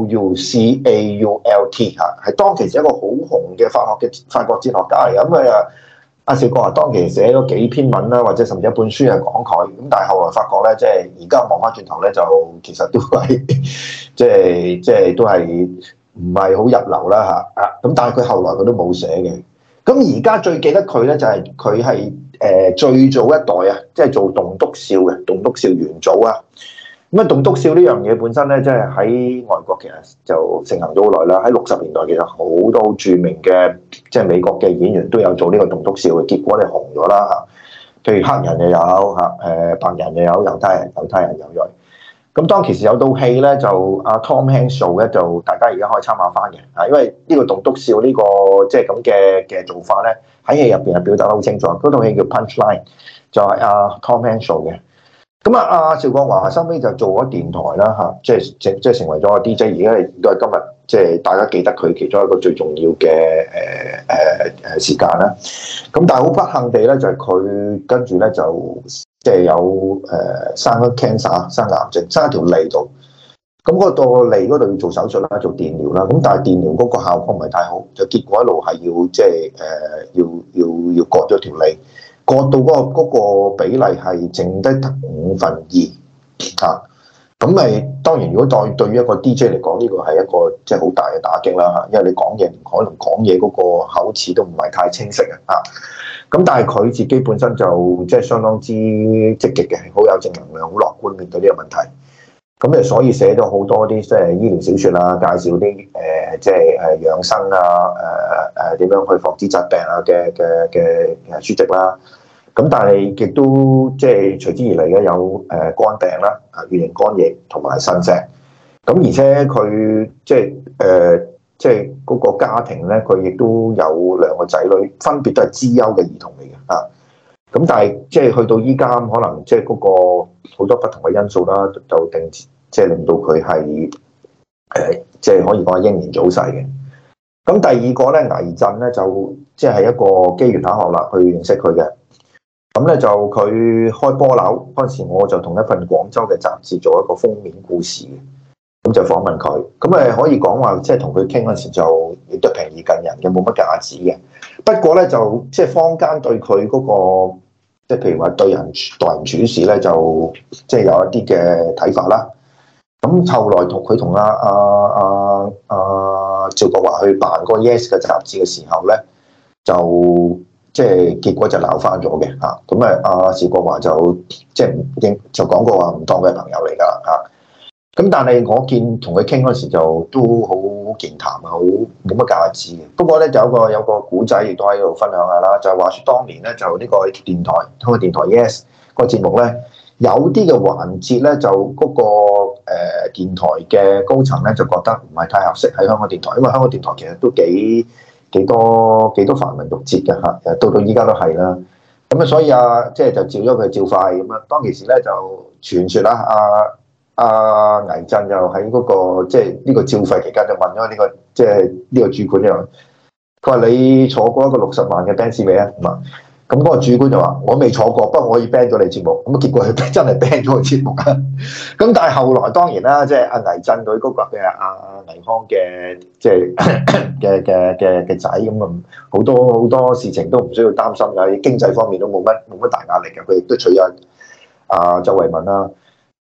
Foucault 嚇，係當其時一個好紅嘅法國哲學家嚟嘅。咁佢阿趙國華當其時寫咗幾篇文啦，或者甚至一本書係講佢。咁但係後來發覺咧，即係而家望翻轉頭咧，就其實都係即係都係唔係好入流啦嚇。咁但係佢後來佢都冇寫嘅。咁而家最記得佢咧，就係佢係最早一代啊，即係做棟篤笑嘅棟篤笑元祖啊。咁啊，棟篤笑呢樣嘢本身咧，即係喺外國其實就盛行咗好耐啦。喺60年代其實好多著名嘅即係美國嘅演員都有做呢個棟篤笑嘅，結果你紅咗啦嚇。譬如黑人又有嚇，白人又有，猶太人又有。咁當其時有套戲咧，就阿 Tom Hanks 做咧，就大家而家可以參考翻嘅嚇，因為呢個棟篤笑呢個即係咁嘅做法咧，喺戲入邊係表達得好清楚。嗰套戲叫 Punchline， 就係阿 Tom Hanks 做嘅。咁阿趙國華收尾就做咗電台啦嚇，即係成為咗個 DJ， 而家都係今日即係大家記得佢其中一個最重要嘅時間啦。咁但係好不幸地咧，就係佢跟住咧就即係有生咗 cancer， 生癌症，生喺條脷度。咁嗰個脷嗰度要做手術啦，做電療啦。咁但係電療嗰個效果唔係太好，就結果一路係要即係要割咗條脷。割到嗰個比例係剩低得2/5嚇，咁咪當然如果對於一個 DJ 嚟講，呢個係一個即係好大嘅打擊啦嚇，因為你講嘢可能講嘢嗰個口齒都唔係太清晰啊嚇，咁但係佢自己本身就即係相當之積極嘅，好有正能量，好樂觀面對呢個問題。咁所以寫咗好多啲即係醫療小説啊，介紹啲即係養生啊，點樣去防止疾病啊嘅書籍啦。咁但係亦都即係隨之而嚟嘅有肝病啦，乙型肝炎同埋腎石。咁而且佢即係嗰個家庭咧，佢亦都有2個仔女，分別都係資優嘅兒童嚟嘅啊。咁但係即係去到依家可能即係嗰個好多不同嘅因素啦，就即係令到佢係即係可以講係英年早逝嘅。咁第二個咧，倪震咧就即係一個機緣巧合啦，去認識佢嘅。咁咧就佢開波樓嗰陣時，我就同一份廣州嘅雜誌做一個封面故事嘅，咁就訪問佢。咁可以講話即係同佢傾嗰陣時就亦都平易近人嘅，冇乜架子嘅。不過咧就即係坊間對佢嗰個即係譬如話待人處事咧，就即係有一啲嘅睇法啦。咁後來佢同阿趙國華去辦嗰個 Yes 嘅雜誌嘅時候咧，就即係結果就鬧翻咗嘅嚇。咁阿趙國華就即係就講過話唔當佢係朋友嚟㗎啦嚇。咁但係我見同佢傾嗰時就都好健談啊，好冇乜架子嘅。不過咧就有個古仔亦都喺度分享下啦，就係話説當年咧就呢個電台通過電台 Yes 個節目咧，有啲嘅環節咧就嗰個電台嘅高層咧就覺得唔係太合適喺香港電台，因為香港電台其實都幾多繁文縟節嘅嚇，到依家都係啦。咁所以即係就照咗佢照快咁啊。當其時咧就傳説啦，阿倪震又喺嗰個即係呢個照肺期間就問咗呢個即係呢個主管又，佢話你坐過一個60萬嘅 Benz 未啊？咁嗰個主管就話我未坐過，不過我可以 ban 咗你節目。咁結果佢真係 ban 咗個節目啊！咁但係後來當然啦，即係阿倪震佢嗰個嘅阿倪匡嘅即係嘅仔咁啊，好多事情都唔需要擔心㗎，經濟方面都冇乜大壓力嘅。佢亦都娶咗阿周慧敏啦。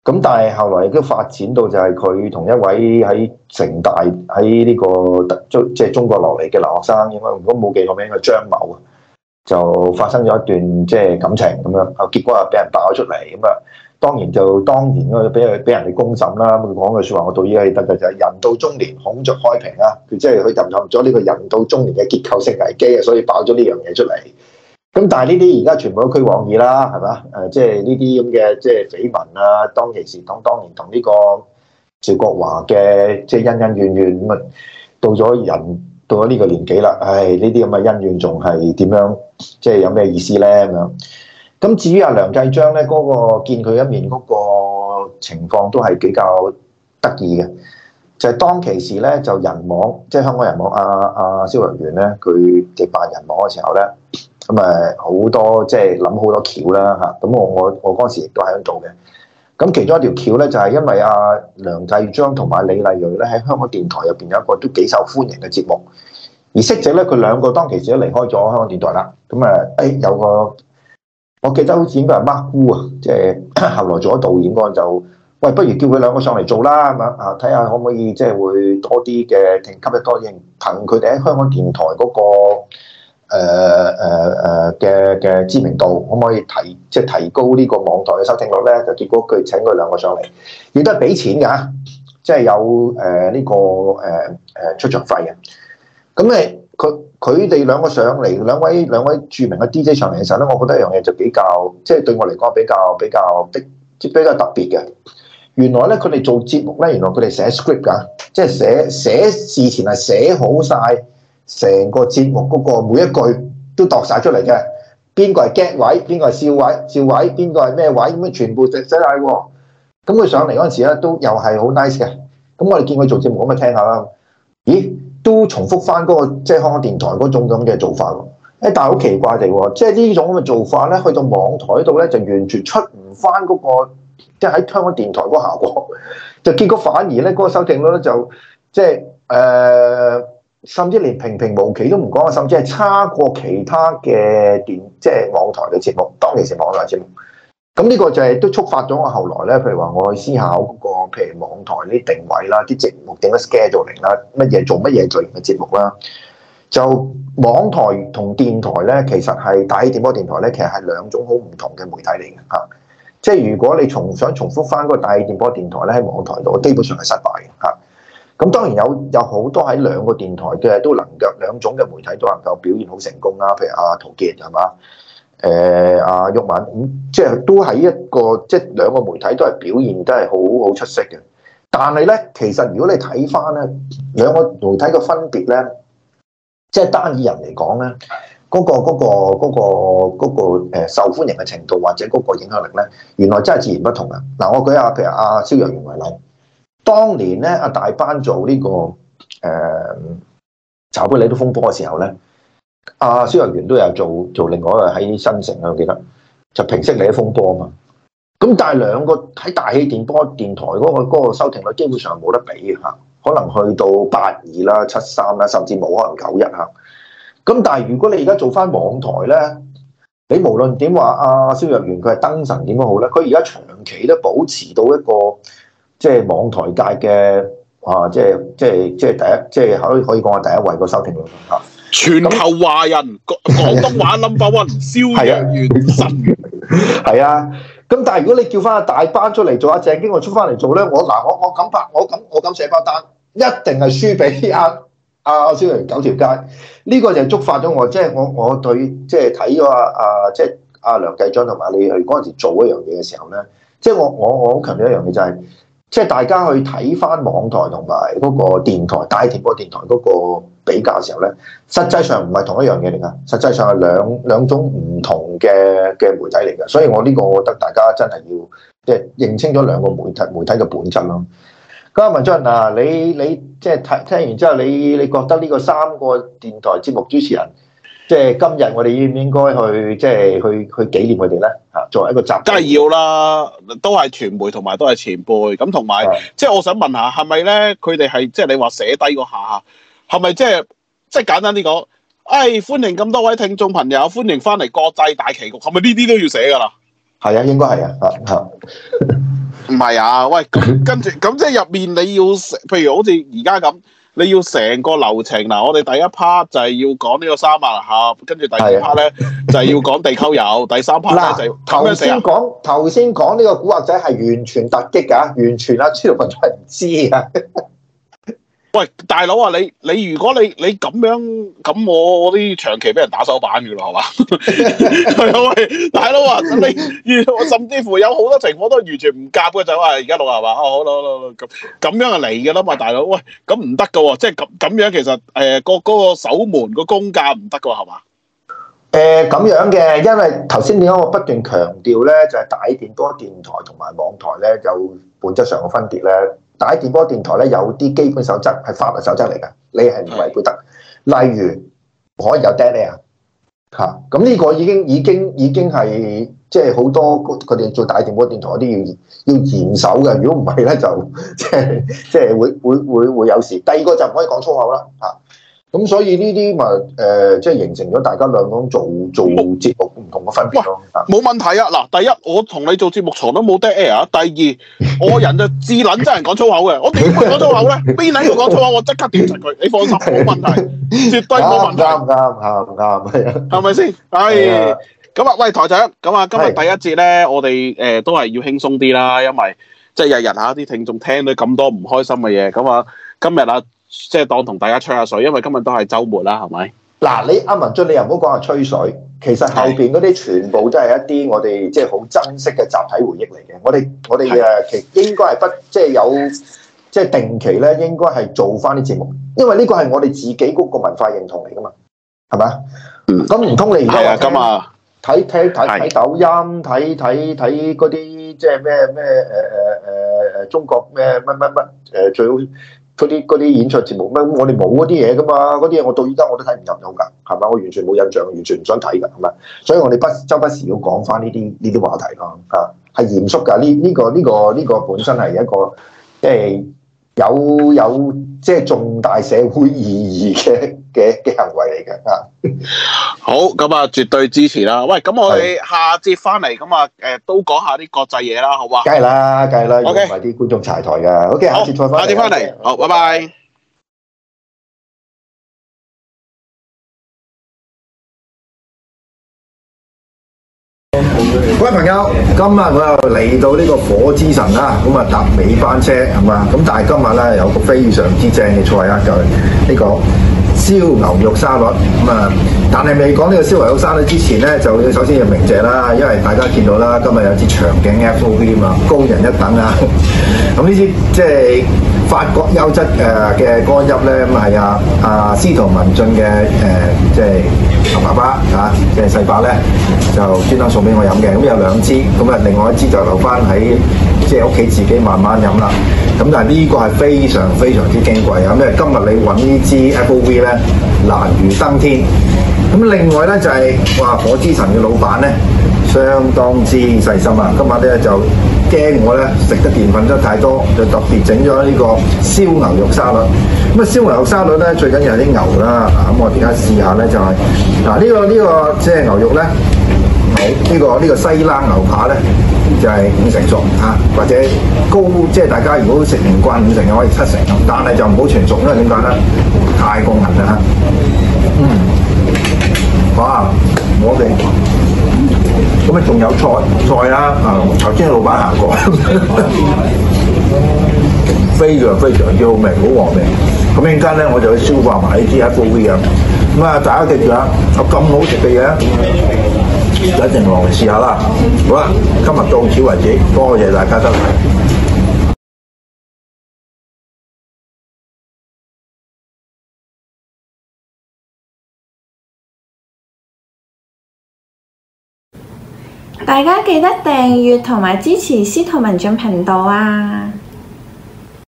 咁但係後來亦都發展到就係佢同一位喺城大喺呢個即係中國落嚟嘅留學生，應該如果冇記錯名嘅張某啊，就發生咗一段即係感情咁樣，啊結果啊俾人爆咗出嚟咁啊，當然嗰俾人哋公審啦。佢講句説話，我到依家記得嘅就係人到中年孔雀開屏啊，佢即係佢陷入咗呢個人到中年嘅結構性危機啊，所以爆咗呢樣嘢出嚟。咁但係呢啲而家全部都虛妄意啦，係嘛？即係呢啲咁嘅即係緋聞啊，當其時當年同呢個趙國華嘅即係恩恩怨怨咁啊，到咗呢個年紀啦，唉，呢啲咁嘅恩怨仲係點樣？即係有咩意思咧咁樣？咁至於阿梁繼章咧，嗰個見佢一面嗰個情況都係比較得意嘅，就係當其時咧就人網，即係香港人網阿蕭若元咧，佢哋扮人網嘅時候咧。咁好多即係諗好多橋啦嚇，咁我嗰陣時亦都喺度做嘅。咁其中一條橋咧就係因為阿梁繼章同埋李麗蕊咧喺香港電台入邊有一個都幾受歡迎嘅節目，而息者咧佢兩個當其時都離開咗香港電台啦。咁有個我記得好似應該係 Mark Wu 啊，即係後來做咗導演嗰陣就喂，不如叫佢兩個上嚟做啦咁樣啊，睇下可唔可以即係會多啲嘅吸引多啲，憑佢哋喺香港電台嗰個。嘅知名度可唔可以提高呢個網台嘅收聽率咧？就結果佢請佢兩個上嚟，亦都係俾錢㗎，即係有呢個出場費嘅。咁佢哋兩個上嚟，兩位著名嘅 DJ 上嚟嘅時候咧，我覺得一樣嘢就比較，即係對我嚟講比較特別嘅。原來咧，佢哋做節目咧，原來佢哋寫 script 㗎，即係寫事前係寫好晒。成個節目嗰個每一句都度晒出嚟嘅，邊個係 get 位，邊個係笑位，邊個係咩位，咁樣全部寫晒喎。咁佢上嚟嗰陣時咧，都又係好 nice 嘅。咁我哋見佢做節目，咁咪聽下啦。咦，都重複翻嗰個即係香港電台嗰種咁嘅做法喎。但係好奇怪地喎，即係呢種咁嘅做法咧，去到網台度咧就完全出唔翻嗰個，即係喺香港電台嗰個效果。就結果反而咧嗰個收聽率咧就即係甚至連平平無奇都唔講，甚至係差過其他嘅即係網台嘅節目，當其時網台節目。咁呢個就係都觸發咗我後來咧，譬如話我去思考嗰個，譬如網台啲定位啦，啲節目點樣 scheduling 啦，乜嘢做乜嘢類型嘅節目啦。就網台同電台咧，其實係大氣電波電台咧，其實係兩種好唔同嘅媒體嚟嘅嚇。即係如果你想重複翻嗰個大氣電波電台咧，喺網台度，基本上係失敗嘅嚇。咁當然有好多喺兩個電台嘅都能夠兩種嘅媒體都能夠表現好成功啦，譬如阿陶傑係嘛，阿毓民咁，即係都喺一個即係兩個媒體都係表現都係好出色嘅。但係咧，其實如果你睇翻咧兩個媒體嘅分別咧，即係單以人嚟講咧，嗰個受歡迎嘅程度或者嗰個影響力咧，原來真係截然不同嘅。嗱，我舉下譬如阿蕭若元為例。當年咧，阿大班做呢個茶杯里都風波嘅時候咧，阿蕭若元都有做另外一個喺新城啊，我記得就平息你啲風波啊嘛。咁但係兩個喺大氣電波電台嗰個收聽率基本上冇得比嘅嚇，可能去到82啦、73啦，甚至冇可能91嚇。咁但係如果你而家做翻網台咧，你無論點話阿蕭若元佢係燈神點樣好咧，佢而家長期都保持到一個。即係網台界嘅即係第一，即係可以講係第一位個收聽率嚇。 全球華人廣東話 number one， 蕭若元神。 係啊，咁但係如果你叫翻阿大班出嚟做，阿鄭經國出翻嚟做咧，我敢拍，我敢寫包單，一定係輸俾阿蕭若元九條街。呢個就觸發咗我，即係我對即係睇咗即係阿梁繼章同埋你去嗰陣時做一樣嘢嘅時候咧，即係我好強調一樣嘢就係。即係大家去睇翻網台同埋嗰個電台大氣電波電台嗰個比較嘅時候咧，實際上唔係同一樣嘢嚟㗎，實際上係兩種唔同嘅媒體嚟㗎，所以我呢個我覺得大家真係要即係認清咗兩個媒體嘅本質咯。咁阿文進嗱，你即係聽完之後，你覺得呢個3個電台節目主持人？即係今日我哋應唔應該去即係去紀念佢哋咧？嚇，作為一個集，梗係要啦，都係傳媒同埋都係前輩咁，同埋即係我想問下，係咪咧？佢哋係即係你話寫低嗰下，係咪即係簡單啲講？歡迎咁多位聽眾朋友，歡迎翻嚟國際大棋局，係咪呢啲都要寫㗎啦？ 係啊，應該係啊，嚇。 唔係啊，喂，咁跟住咁即係入面你要，譬如好似而家咁，你要成個流程嗱，我哋第一 part 就係要講呢個三萬盒，跟住第二 part 咧就係要講地溝油，第三 part 咧就頭先講呢個古惑仔係完全突擊㗎，完全啊朱立文係唔知啊。 喂，大佬啊，你如果你咁樣咁，我啲長期俾人打手板㗎咯，係嘛？係啊，喂，大佬啊，你甚至乎有好多情況都完全唔夾嘅，就話而家錄係嘛？哦，好咁樣就嚟㗎啦嘛，大佬，喂，咁唔得㗎喎，即係咁樣其實嗰個守門個公價唔得㗎喎，係嘛？ 咁樣嘅，因為頭先點解我不斷強調咧，就係大電波電台同埋網台咧有本質上嘅分別咧。大電波電台咧有啲基本守則係法律守則嚟㗎，你係唔違背得。例如可以有 dead air 嚇，咁呢個已經係即係好多佢哋做大電波電台嗰啲要嚴守嘅。如果唔係咧，就即係會有事。第二個就唔可以講粗口啦嚇。咁所以呢啲咪即係形成咗大家兩種做節目唔同嘅分別咯。 冇問題啊！嗱，第一我同你做節目從都冇 dead air。第二我人就智撚真人講粗口嘅，我點會講粗口咧？邊撚要講粗口？我即刻屌柒佢！你放心，冇問題，絕對冇問題。啱，係啊，係咪先？係咁啊！喂，台長，咁啊，今日第一節咧，我哋都係要輕鬆啲啦，因為即係日日下啲聽眾聽到咁多唔開心嘅嘢，咁啊，今日啊〜即係當同大家吹下水，因為今日都係週末啦，係咪？嗱， 你阿文進，你又唔好講話吹水，其實後邊嗰啲全部都係一啲我哋即係好珍惜嘅集體回憶嚟嘅。我哋其應該係即係有即係定期咧，應該係做翻啲節目，因為呢個係我哋自己嗰個文化認同嚟噶嘛，係咪？咁唔通你而家咁啊？ 睇抖音，睇嗰啲即係咩中國咩乜最好。嗰啲演唱節目咩？我哋冇嗰啲嘢噶嘛，嗰啲嘢我到而家我都睇唔入腦㗎，係咪？我完全冇印象，完全唔想睇㗎，係咪？所以我哋周不時要講翻呢啲話題咯，係嚴肅㗎。呢個本身係一個即係有即係重大社會意義嘅行為嚟嘅啊！ 好，咁啊，絕對支持啦。喂，咁我哋下節翻嚟咁啊，都講下啲國際嘢啦，好嘛？ 梗係啦，如果唔係啲觀眾柴台㗎。OK，下節再翻嚟。 下節翻嚟，好，拜拜。 各位朋友，今日我又嚟到呢個火之神啦，咁啊搭尾班車係嘛？咁但係今日咧有個非常之正嘅菜啊，就係呢個燒牛肉沙律咁啊！但係未講呢個燒牛肉沙律之前咧，就要首先要鳴謝啦，因為大家見到啦，今日有支長頸 FOV 啊，高人一等啊！咁呢支即係法國優質嘅乾邑咧，咁係司徒文進嘅即係牛爸爸嚇，即係細伯咧就專登送俾我飲嘅，咁有兩支，咁啊另外一支就留翻喺即係屋企自己慢慢飲啦。咁但係呢個係非常非常之矜貴啊！因為今日你揾呢支 FOV 咧難如登天。咁另外咧就係話火之神嘅老闆咧相當之細心啊！今日咧就驚我咧食得澱粉質太多，就特別整咗呢個燒牛肉沙律。咁啊燒牛肉沙律咧最緊要係啲牛啦，咁我而家試下咧就係呢個即係牛肉咧，呢個西冷牛扒咧就係5成熟嚇，或者高即係大家如果食唔慣5成嘅可以7成，但係就唔好全熟，因為點解咧太過韌啦嚇。哇！我哋咁啊仲有菜啦，頭先老闆行過，非常非常之好味，好和味。咁陣間咧我就去消化埋呢啲 FOV 啊。咁啊大家記住啊，有咁好食嘅嘢，一定落嚟試下啦。好啦，今日到此為止，多謝大家收睇。 大家記得訂閱同埋支持司徒文進頻道啊！